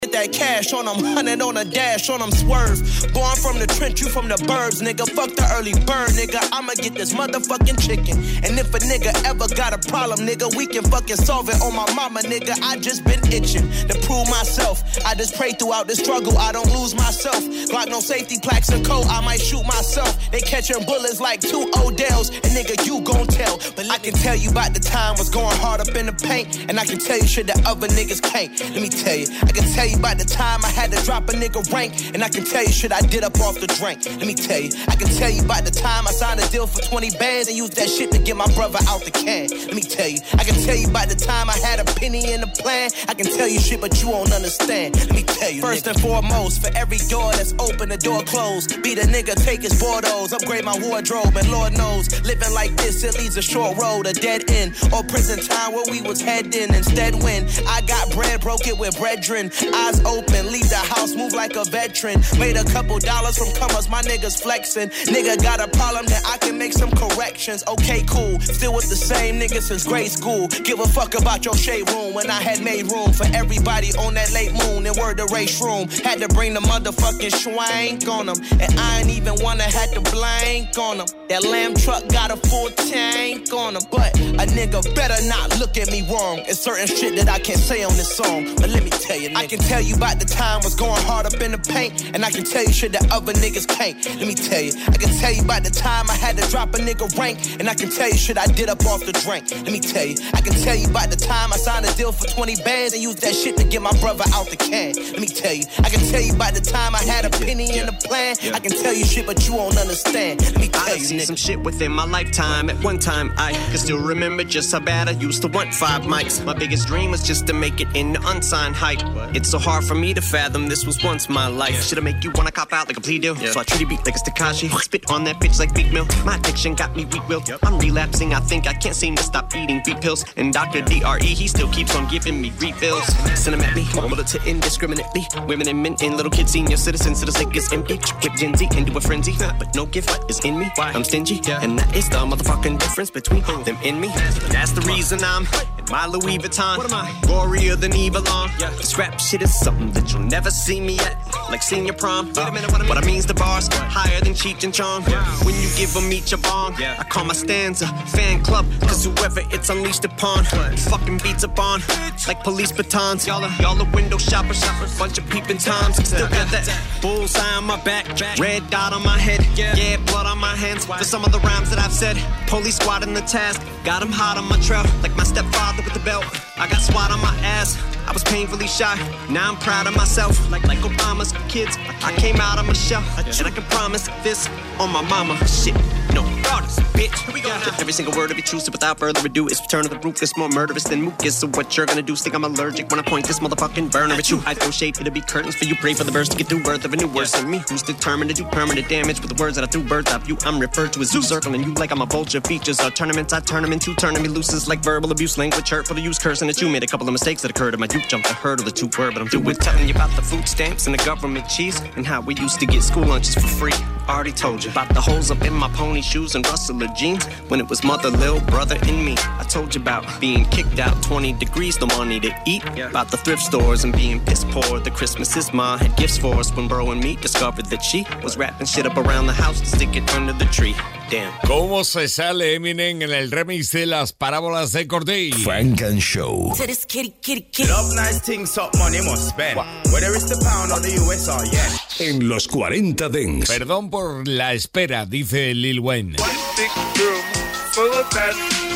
get that cash on them, hundred on a dash on them, swerve. Born from the trench, you from the burbs, nigga. Fuck the early bird, nigga. I'ma get this motherfucking chicken. And if a nigga ever got a problem, nigga, we can fucking solve it on my mama, nigga. I just been itching to prove myself. I just pray throughout the struggle, I don't lose myself. Glock no safety plaques and coat, I might shoot myself. They catching bullets like two Odells, and nigga, you gon' tell. But I can tell you about the time was going hard up in the paint, and I can tell you shit that other niggas can't. Let me tell you, I can tell you about the time I had to drop a nigga rank, and I can tell you shit I did up off the drink. Let me tell you, I can tell you about the time I signed a deal for twenty bands and used that shit to get my brother out the can. Let me tell you, I can tell you about the time I had a penny in the plan. I can tell you shit, but you won't understand. Let me tell you, first nigga. And foremost, for every door that's open, the door closed. Be the nigga, take his Bordeaux, upgrade my wardrobe, and Lord knows, living like this, it leads a short road, a dead end, or prison time where we was heading. Instead, when I got bread, broke it with brethren, eyes open, leave the house, move like a veteran. Made a couple dollars from comers, my niggas flexing. Nigga got a problem, then I can make some corrections. Okay, cool, still with the same niggas since grade school. Give a fuck about your shade room when I had made room for everybody on that late moon and word the race room. Had to bring the motherfucking schwank on them, and I ain't even wanna had to blank on them. That lamb truck got a full tank on them, but a nigga better not look at me wrong. It's certain shit that I can't say on this song, but let me tell you, nigga. I can tell you about the time was going hard up in the paint, and I can tell you shit that other niggas can't. Let me tell you, I can tell you about the time I had to drop a nigga rank, and I can tell you shit I did up off the drink. Let me tell you, I can tell you about the time I signed a deal for twenty bands and used that shit to get my brother out the can. Let me tell you, I can tell you about the time I had a penny in the plan. I can tell you shit, but you won't understand. Let me tell I you, seen nigga. some shit within my lifetime. At one time, I can still remember just how bad I used to want five mics. My biggest dream was just to make it in the unsigned hype. It's so hard for me to fathom this was once my life. Yeah. Should've make you wanna cop out like a plea deal. Yeah. So I treat it beat like a Tekashi. Spit on that bitch like Big Mill. My addiction got me weak willed. Yep. I'm relapsing, I think I can't seem to stop eating beat pills. And Doctor D R E, he still keeps on giving me refills. Send them at me, mobile to indiscriminately. Women and men and little kids, senior citizens, so the sick is empty. Whip Gen Z into a frenzy, but no gift is in me. I'm stingy, and that is the motherfucking difference between them and me. That's the reason I'm in my Louis Vuitton. What am I? Gorier than Evelon. Yeah. This rap shit is something that you'll never see me at, like senior prom. Wait a minute, what I mean? What I mean's the bars higher than Cheech and Chong. Yeah. When you give them each a bong, yeah. I call my stanza fan club, cause whoever it's unleashed upon, fucking beats upon like police batons. Y'all are, y'all are window shoppers, bunch of peeping toms. Still got that bullseye on my back, red dot on my head, yeah, blood on my hands. For some of the rhymes that I've said, police squad in the task, got him hot on my trail, like my stepfather with the belt. I got SWAT on my ass, I was painfully shy, now I'm proud of myself, like like Obama's kids. I came out of my shell, and I can promise this on my mama. Shit, no, brothers, bitch. Here we go now. Every single word of it true, so without further ado, it's return of the ruthless, more murderous than mucus. So what you're gonna do, think I'm allergic when I point this motherfucking burner at you. I throw shade, it'll be curtains for you, pray for the birds to get through birth of a new worse than me, who's determined to do permanent damage with the words that I threw birds of you. I'm referred to as zoo circling you like I'm a vulture. Features are tournaments, I turn them into turning me looses like verbal abuse, language hurtful to use, cursing at you. Made a couple of mistakes that occurred in my youth, jumped the hurdle the two word, but I'm through with telling you about the food stamps and the government cheese and how we used to get school lunches for free. Already told you about the holes up in my pony shoes and rustler jeans when it was mother, little brother, and me. I told you about being kicked out, twenty degrees, no money to eat. Yeah. About the thrift stores and being piss poor. The Christmases ma had gifts for us when bro and me discovered that she was wrapping shit up around the house to stick it under the tree. Damn. ¿Cómo se sale Eminem en el remix de las parábolas de Corday? Funk and Show. To this kitty, kitty, kitty. Love nice things, up money must spend. Whether it's the pound or the U S or yen. En los cuarenta Dance. Perdón por la espera, dice Lil Wayne. One big room full of bad.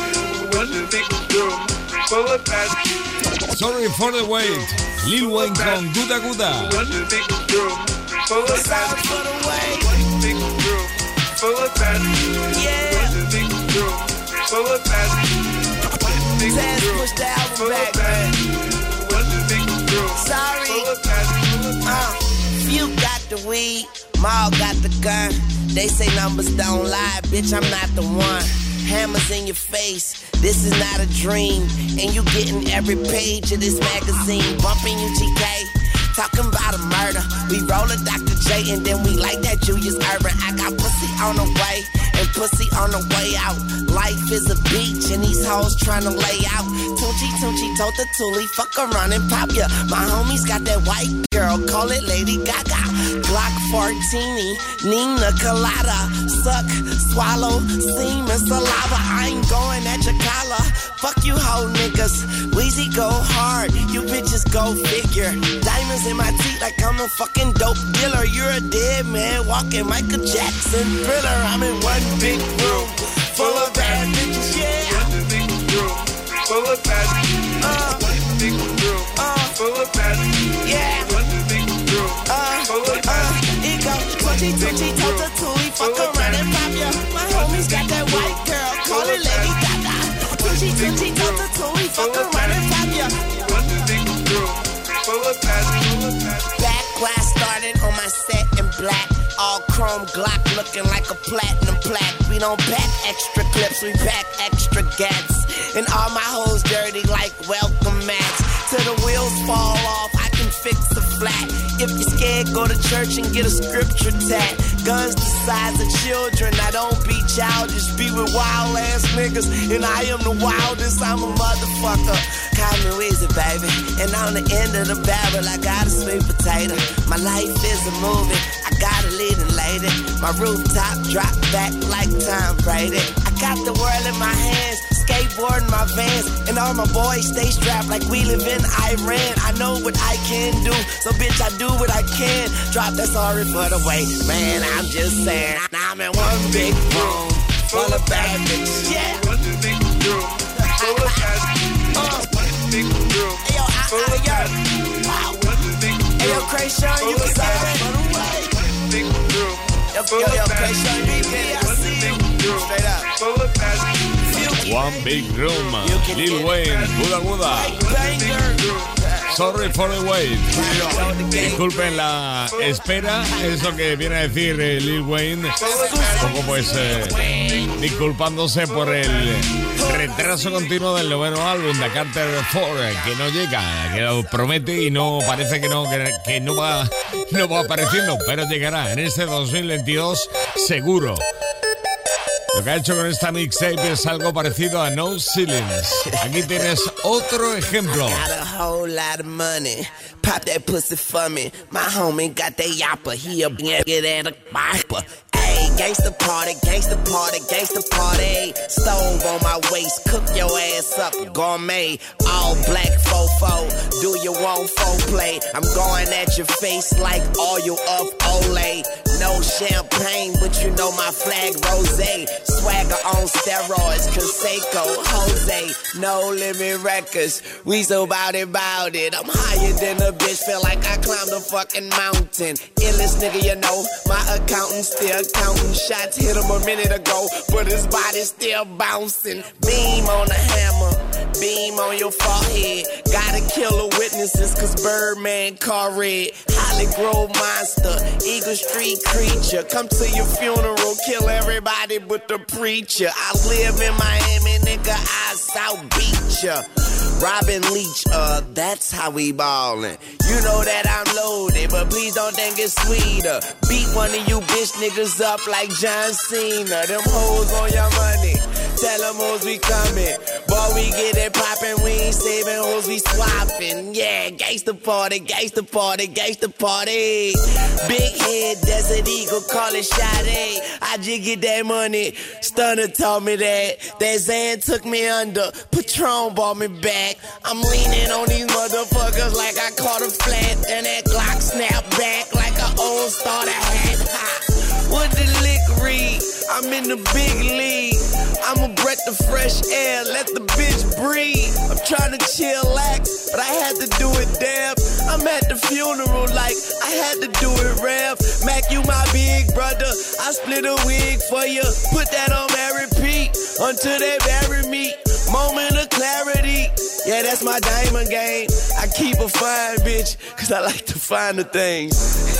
One big room full of bad. Sorry for the wait. Lil Wayne con Guda Guda. One big room full of bad. One big room full of bad. Yeah. One big room full of bad. One big room full of bad. One big room Sorry. full of bad. Uh, you got the weed, Maul got the gun. They say numbers don't lie, bitch, I'm not the one. Hammers in your face, this is not a dream. And you getting every page of this magazine. Bumping you G K, talking about a murder. We roll a Doctor J and then we like that Julius Urban. I got pussy on the way and pussy on the way out. Life is a beach and these hoes tryna lay out. Tunchi, Tunchi, told the Tuli, fuck around and pop ya. My homies got that white girl, call it Lady Gaga. Glock Fortini, Nina Colada. Suck, swallow, semen, saliva. I ain't going at your collar. Fuck you hoe niggas. Weezy go hard, you bitches go figure. Diamonds in my teeth like I'm a fucking dope dealer. You're a dead man walking Michael Jackson Thriller. I'm in one big room full of bad bitches, yeah. One big room full of bad bitches. Uh, One big room uh, full of bad bitches. Yeah. One big room uh, full of bad bitches. Ego, Tunchi, Tunchi, told the Tuli, fuck around and pop ya. My homies got that white girl, call it Lady Gaga. Tunchi, Tunchi, told the Tuli, fuck around and pop ya. One big room full of bad bitches. Back where I started on my set in black. All chrome Glock looking like a platinum plaque. We don't pack extra clips, we pack extra gats. And all my hoes dirty like welcome mats. Till the wheels fall off, I can fix a flat. If you're scared, go to church and get a scripture tat. Guns the size of children, I don't be childish. Be with wild ass niggas, and I am the wildest, I'm a motherfucker. Call me Weezy, baby. And on the end of the barrel, I got a sweet potato. My life is a movie, I got a leading lady. My rooftop drop back like Tom Brady. I got the world in my hands, skateboarding my vans. And all my boys stay strapped like we live in Iran. I know what I can do, so bitch, I do what I can. Drop that sorry for the wait, man, I'm just saying. Now I'm in one big room full of bad bitches, yeah. One big room full of bad bitches. One big room full of bad bitches. One big room. Hey, yo, Krayshawn, you can say that. One big room. Yo, yo, yo, Krayshawn, B B, I see you. Straight up. Full of bad bitches. One Big Room, Lil Wayne, Buda Buda. Sorry for the wait. Disculpen la espera, es lo que viene a decir eh, Lil Wayne. Un poco pues eh, disculpándose por el retraso continuo del noveno álbum de Carter cuatro, que no llega, que lo promete y no parece que no, que, que no va, no va apareciendo, pero llegará en este dos mil veintidós seguro. Lo que ha hecho con esta mixtape es algo parecido a No Ceilings. Aquí tienes otro ejemplo. Got a whole lot of money. Pop that pussy for me. My homie got that yapper. He a get at a bopper. Hey, gangsta party, gangsta party, gangsta party. Stove on my waist, cook your ass up, gourmet. All black fofo, do you want foreplay? I'm going at your face like oil of Olay. No champagne, but you know my flag rosé. Swagger on steroids, Conseco, Jose. No limit records, we so bout it, bout it. I'm higher than a bitch, feel like I climbed a fucking mountain. Illest nigga, you know, my accountant still counting shots. Hit him a minute ago, but his body still bouncing. Beam on the hammer, beam on your forehead. Gotta kill the witnesses, cause Birdman car red. Holly Grove monster, Eagle Street creature. Come to your funeral, kill everybody but the preacher. I live in Miami, nigga, I South Beach ya. Robin Leach, uh, that's how we ballin'. You know that I'm loaded, but please don't think it's sweeter. Beat one of you bitch niggas up like John Cena. Them hoes on your money, tell them hoes we comin'. Boy, we get it poppin', we ain't saving hoes, we swappin'. Yeah, gangsta party, gangsta party, gangsta party. Big head, Desert Eagle, call it Sade. I just get that money, Stunner told me that. That Zan took me under, Patron brought me back. I'm leaning on these motherfuckers like I caught a flat. And that Glock snap back like an old starter hat. Ha. What the lick read? I'm in the big league. I'm a breath of fresh air, let the bitch breathe. I'm trying to chillax, but I had to do it damn. I'm at the funeral like I had to do it rap. Mac, you my big brother, I split a wig for you. Put that on my repeat until they bury me. Moment of clarity, yeah, that's my diamond game. I keep a fine bitch, cause I like to find the things.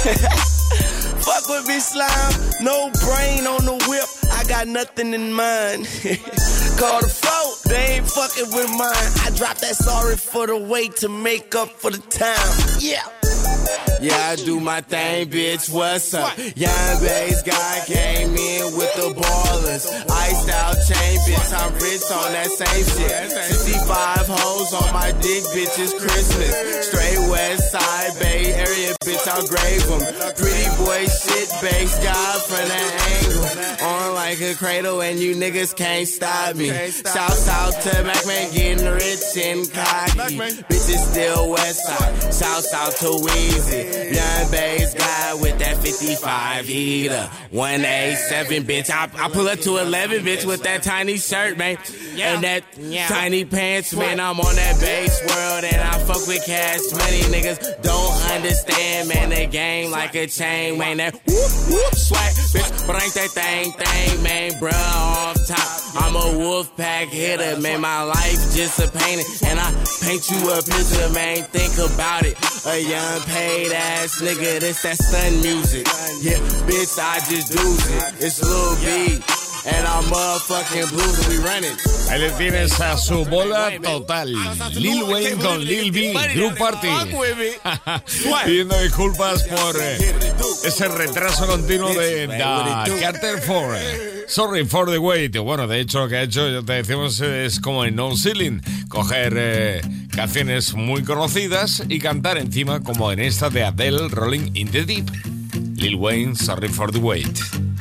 Fuck with me, slime, no brain on the whip, I got nothing in mind. Call the float, they ain't fucking with mine. I dropped that sorry for the weight to make up for the time. Yeah. Yeah, I do my thing, bitch, what's up? Young bass guy came in with the ballers. Iced out chain, bitch, I'm rich on that same shit. sixty-five hoes on my dick, bitch, it's Christmas. Straight west side, Bay Area, bitch, I'll grave them. Pretty boy shit, bass guy from that angle. On like a cradle and you niggas can't stop me. Shouts out to Mac-Man getting rich and cocky. Bitches still west side. Shouts out to Weezy. Young bass guy with that fifty-five heater. one eighty-seven, bitch. I, I pull up to eleven, bitch, with that tiny shirt, man. And that tiny pants, man. I'm on that bass world and I fuck with cash money. Niggas don't understand, man. The game like a chain, man. That whoop, whoop, swag, bitch. But ain't that thing, thing, man. Bruh, off top. I'm a wolf pack hitter, man. My life just a painting. And I paint you a picture, man. Think about it. A young paid ass nigga, this that stun music. Yeah, bitch, I just do it. It's Lil B. And I'm motherfucking blues and we running. Ahí le tienes a su bola total. Lil Wayne con Lil B, Group Party. Pidiendo disculpas por eh, ese retraso continuo de The Carter four. Sorry for the wait. Bueno, de hecho lo que ha hecho, ya te decimos, es como en No Ceiling. Coger eh, canciones muy conocidas y cantar encima, como en esta de Adele, Rolling in the Deep. Lil Wayne, Sorry for the wait.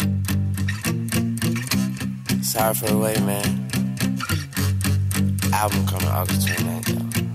Sorry for the wait, man. Album coming August twenty-ninth,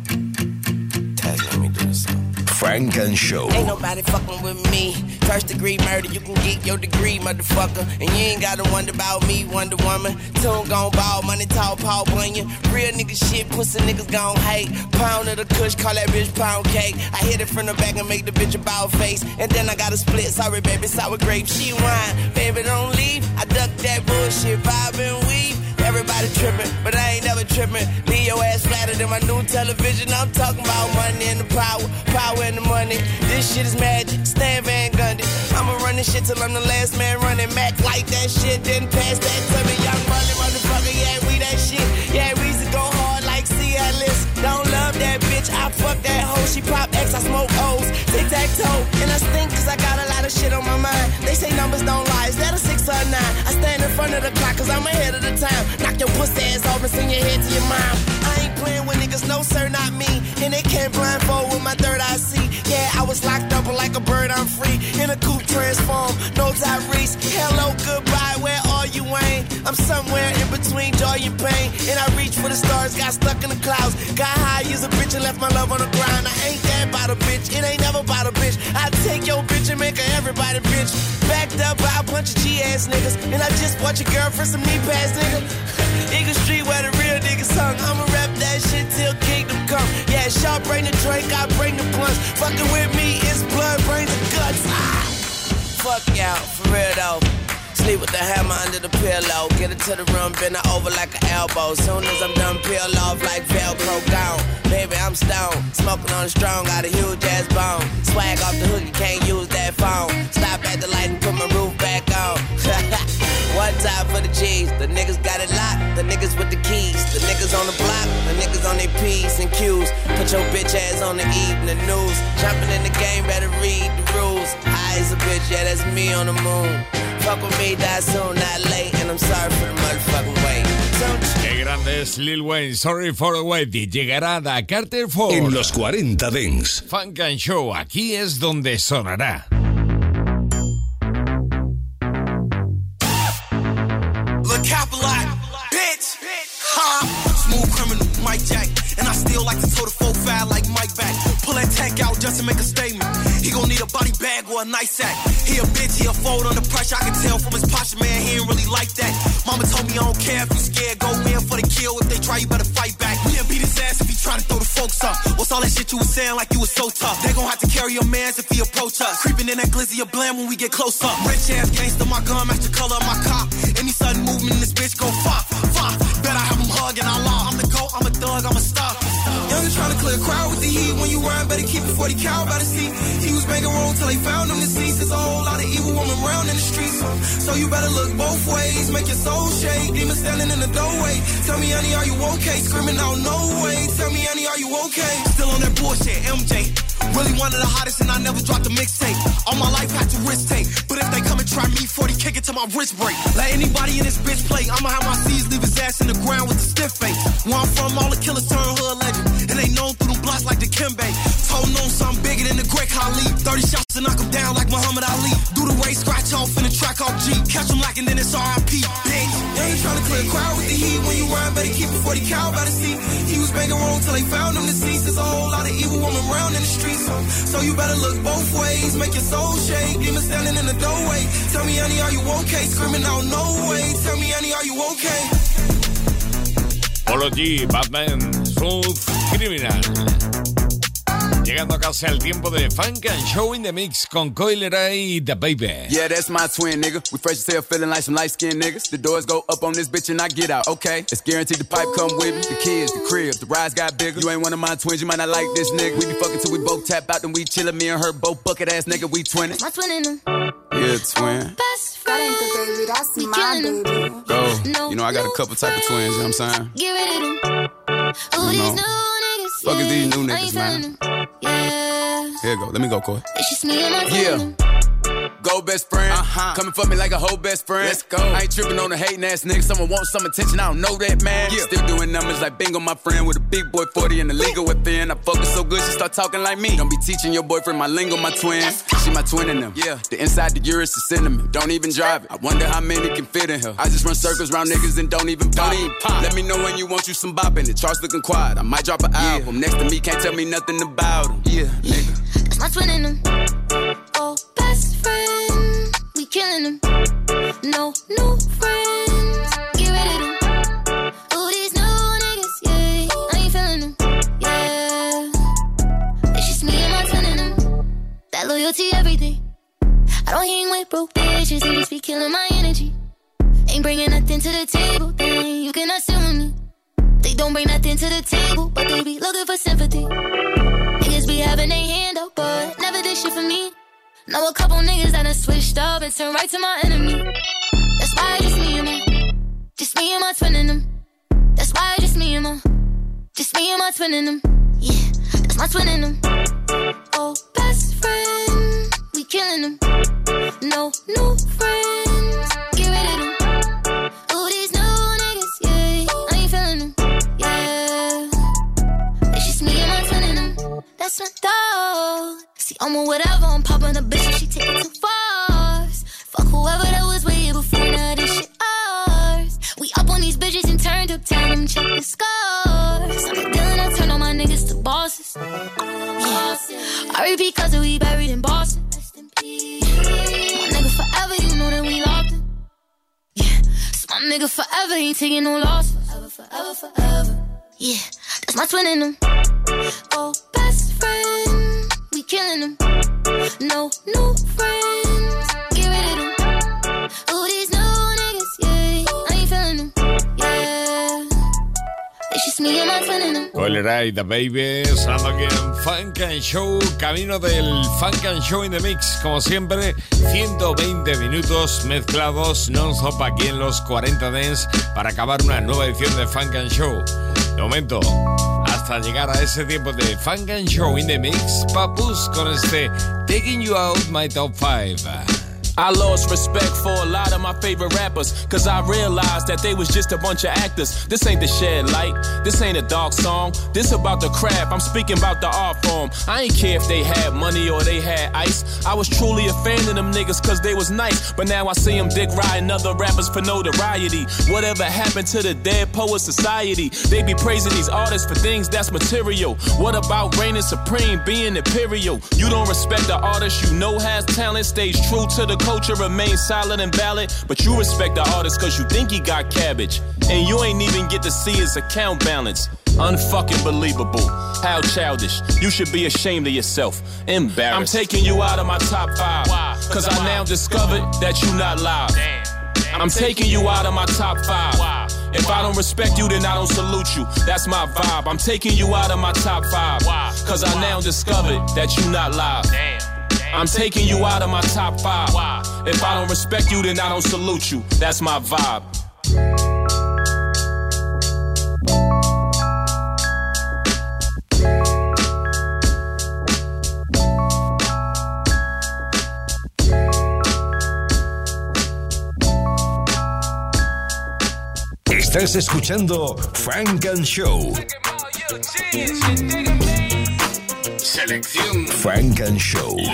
though. Taz, let me do this song. Frank and Show. Ain't nobody fucking with me. First degree murder, you can get your degree, motherfucker. And you ain't gotta wonder about me, Wonder Woman. Tune gon' ball, money talk, Paul Bunyan. Real nigga shit, pussy niggas gon' hate. Pound of the kush, call that bitch pound cake. I hit it from the back and make the bitch a bow face. And then I got a split, sorry baby, sour grape. She whine, baby don't leave. I duck that bullshit, vibe and weave. Everybody trippin', but I ain't never trippin'. Leave your ass flatter than my new television. I'm talking about money and the power, power and the money. This shit is magic, Stan Van Gundy. I'ma run this shit till I'm the last man running. Mac like that shit, didn't pass that to me. Young money, motherfucker, yeah, we that shit. Yeah, we used to go hard like Cialis. Don't love that bitch, I fuck that hoe. She pop X, I smoke O's. Tic-tac-toe, and I stink cause I got a lot of shit on my mind. They say numbers don't lie, is that a six or a nine? I stand in front of the clock cause I'm ahead of the time. Knock your pussy ass off and send your head to your mom. I ain't playing with niggas, no sir, not me. And they can't blindfold with my third eye see. Yeah, I was locked up like a bird, I'm free. In a coupe transform, no Tyrese. Hello, goodbye, where are you, Wayne? I'm somewhere in between joy and pain. And I reached for the stars, got stuck in the clouds. Got high, used a bitch and left my love on the ground. I ain't that about a bitch, it ain't never about a bitch. I take your bitch and make her everybody bitch. Backed up by a bunch of G-ass niggas. And I just bought your girlfriend some knee pads, nigga. Eagle Street where the real niggas hung. I'ma rap that shit till kingdom come. Yeah, Shaw bring the drink, I bring the blunts. Fucking with me, it's blood, brains, and guts. Ah! Fuck y'all, for real though. Sleep with the hammer under the pillow. Get it to the room, bend her over like an elbow. Soon as I'm done, peel off like Velcro gone. Baby, I'm stoned. Smoking on the strong, got a huge ass bone. Swag off the hook, you can't use that phone. Stop at the light and put my roof back on. One time for the G's. The niggas got it locked. The niggas with the keys. The niggas on the block. The niggas on their P's and Q's. Put your bitch ass on the evening news. Jumping in the game, better read the rules. High as a bitch, yeah, that's me on the moon. Fuck with me, die soon, not late. And I'm sorry for the motherfucking wait. Qué grande es Lil Wayne, Sorry for the wait. Y llegará The Carter four en los cuarenta Dance. Funk and Show, aquí es donde sonará. Look, Capital, bitch. Ha! Smooth criminal, Mike Jack. And I still like to toe the four five like Mike back. Pull that tank out just to make a statement. He gon' need a body bag or a nice sack. He a bitch, he a fold under pressure. I can tell from his posture, man, he ain't really like that. Mama told me I don't care if you scared. Go in for the kill. If they try, you better fight back. We'll beat his ass if he try to throw the folks up. What's all that shit you was saying like you was so tough? They gon' have to carry your mans if he approach us. Creeping in that glizzy of blam when we get close up. Rich ass gangster, my gun match the color of my cop. Any sudden movement in this bitch go fop, fop. Bet I have him hugging our law. I'm the GOAT, I'm a thug, I'm a star. Youngin' tryna clear a crowd with the heat. When you rhyme, better keep it forty cal by the seat. He was making wrong till they found him deceased. There's a whole lot of evil women around in the streets. So you better look both ways, make your soul shake. Demon standing in the doorway. Tell me, honey, are you okay? Screaming out, no way. Tell me, honey, are you okay? Still on that bullshit, M J. Really one of the hottest and I never dropped a mixtape. All my life had to risk take. But if they come and try me, forty kick it till my wrist break. Let anybody in this bitch play. I'ma have my C's leave his ass in the ground with a stiff face. Where I'm from, all the killers turn hood legend. And they known through them blocks like the Kimbe. Told on something bigger than the Great Khali. thirty shots to knock him down like Muhammad Ali. Do the race, scratch off in the track off G. Catch him lacking, then it's R I P. Bitch, they ain't tryna clear a crowd with the heat. When you rhyme, better keep it forty cal by the seat. He was banging wrong till they found him deceased. There's a whole lot of evil woman around in the streets. So you better look both ways, make your soul shake. Demon standing in the doorway. Tell me, honey, are you okay? Screaming out, no way. Tell me, honey, are you okay? Polo G, Batman, Smooth Criminal. Llegando casi al tiempo de Funk and Show in the Mix con Coil Ray y The Baby. Yeah, that's my twin, nigga. We fresh as hell, feeling like some light-skinned niggas. The doors go up on this bitch and I get out, okay? It's guaranteed the pipe come with me. The kids, the crib, the rides got bigger. You ain't one of my twins, you might not like this nigga. We be fucking till we both tap out, then we chillin'. Me and her both bucket ass nigga, we twinning. My twin in them. Yeah, twin. Best friend, baby, that's we my baby. Go. No, you know I got a couple type of twins, you know what I'm saying? Get rid of them. Oh, these new niggas. Fuck is these new niggas, man? Yeah. Here you go, let me go, Coy. It's just me and my Yeah. Go best friend, uh-huh. Coming for me like a whole best friend. Let's go. I ain't tripping on the hating ass nigga. Someone wants some attention, I don't know that, man. Yeah. Still doing numbers like bingo, my friend. With a big boy forty in the legal within. I focus so good, she start talking like me. Don't be teaching your boyfriend my lingo, my twin. She my twin in them. Yeah. The inside the Urus is cinnamon. Don't even drive it. I wonder how many can fit in her. I just run circles around niggas and don't even pop. Don't even pop. Let me know when you want you some bop in it. Charts looking quiet. I might drop an yeah. album. Next to me, can't tell me nothing about him. Yeah, nigga. That's my twin in them. Oh, best friend. We killing them. No new friends. Get rid of them. Oh, these new niggas, yeah. I ain't feeling them, yeah. It's just me and my twin in them. That loyalty, everything. I don't hang with broke bitches. They just be killing my energy. Ain't bringing nothing to the table, then you cannot sit with me. They don't bring nothing to the table, but they be looking for sympathy. Niggas be having their hand up, but never did shit for me. Know a couple niggas that done switched up and turned right to my enemy. That's why I just me and my, just me and my twin in them. That's why I just me and my, just me and my twin in them. Yeah, that's my twin in them. Oh, best friend, we killing them. No new friends, get rid of them. Oh, these new niggas, yeah, I ain't feeling them. Yeah, it's just me and my twin in them. That's my dog. See, I'm on whatever, I'm popping a bitch if she take it too far. Fuck whoever that was way here before, now this shit ours. We up on these bitches and turned up, tell them check the scores. I'm a dealer, I turn all my niggas to bosses. Yeah, R I P cause we buried in Boston. My nigga forever, you know that we locked him. Yeah, so my nigga forever ain't taking no loss. Forever, forever, forever. Yeah, that's my twin in them. Oh, best friend. We killing them. No new friends. Get rid of them. Oh, these new niggas, yeah. I ain't feeling them, yeah. It's just me and my twin in them. Coil Ray, The Baby, sonando aquí en Funk and Show, camino del Funk and Show in the Mix. Como siempre, ciento veinte minutos mezclados non-stop aquí en los cuarenta Dance para acabar una nueva edición de Funk and Show. De momento, hasta llegar a ese tiempo de Funk and Show in the Mix, Papus con este Taking You Out My Top five. I lost respect for a lot of my favorite rappers, cause I realized that they was just a bunch of actors. This ain't the shed light, this ain't a dark song, this about the craft, I'm speaking about the art form. I ain't care if they had money or they had ice. I was truly a fan of them niggas cause they was nice, but now I see them dick riding other rappers for notoriety. Whatever happened to the dead poet society? They be praising these artists for things that's material. What about reigning supreme, being imperial? You don't respect the artist you know has talent, stays true to the culture, remains solid and valid, but you respect the artist cause you think he got cabbage, and you ain't even get to see his account balance. Unfucking believable. How childish. You should be ashamed of yourself. Embarrassed. I'm taking you out of my top five, cause I now discovered that you not live. I'm taking you out of my top five. If I don't respect you, then I don't salute you. That's my vibe. I'm taking you out of my top five, cause I now discovered that you not live. I'm taking you out of my top five. If I don't respect you, then I don't salute you. That's my vibe. Estás escuchando Funk and Show. Selección Funk and Show.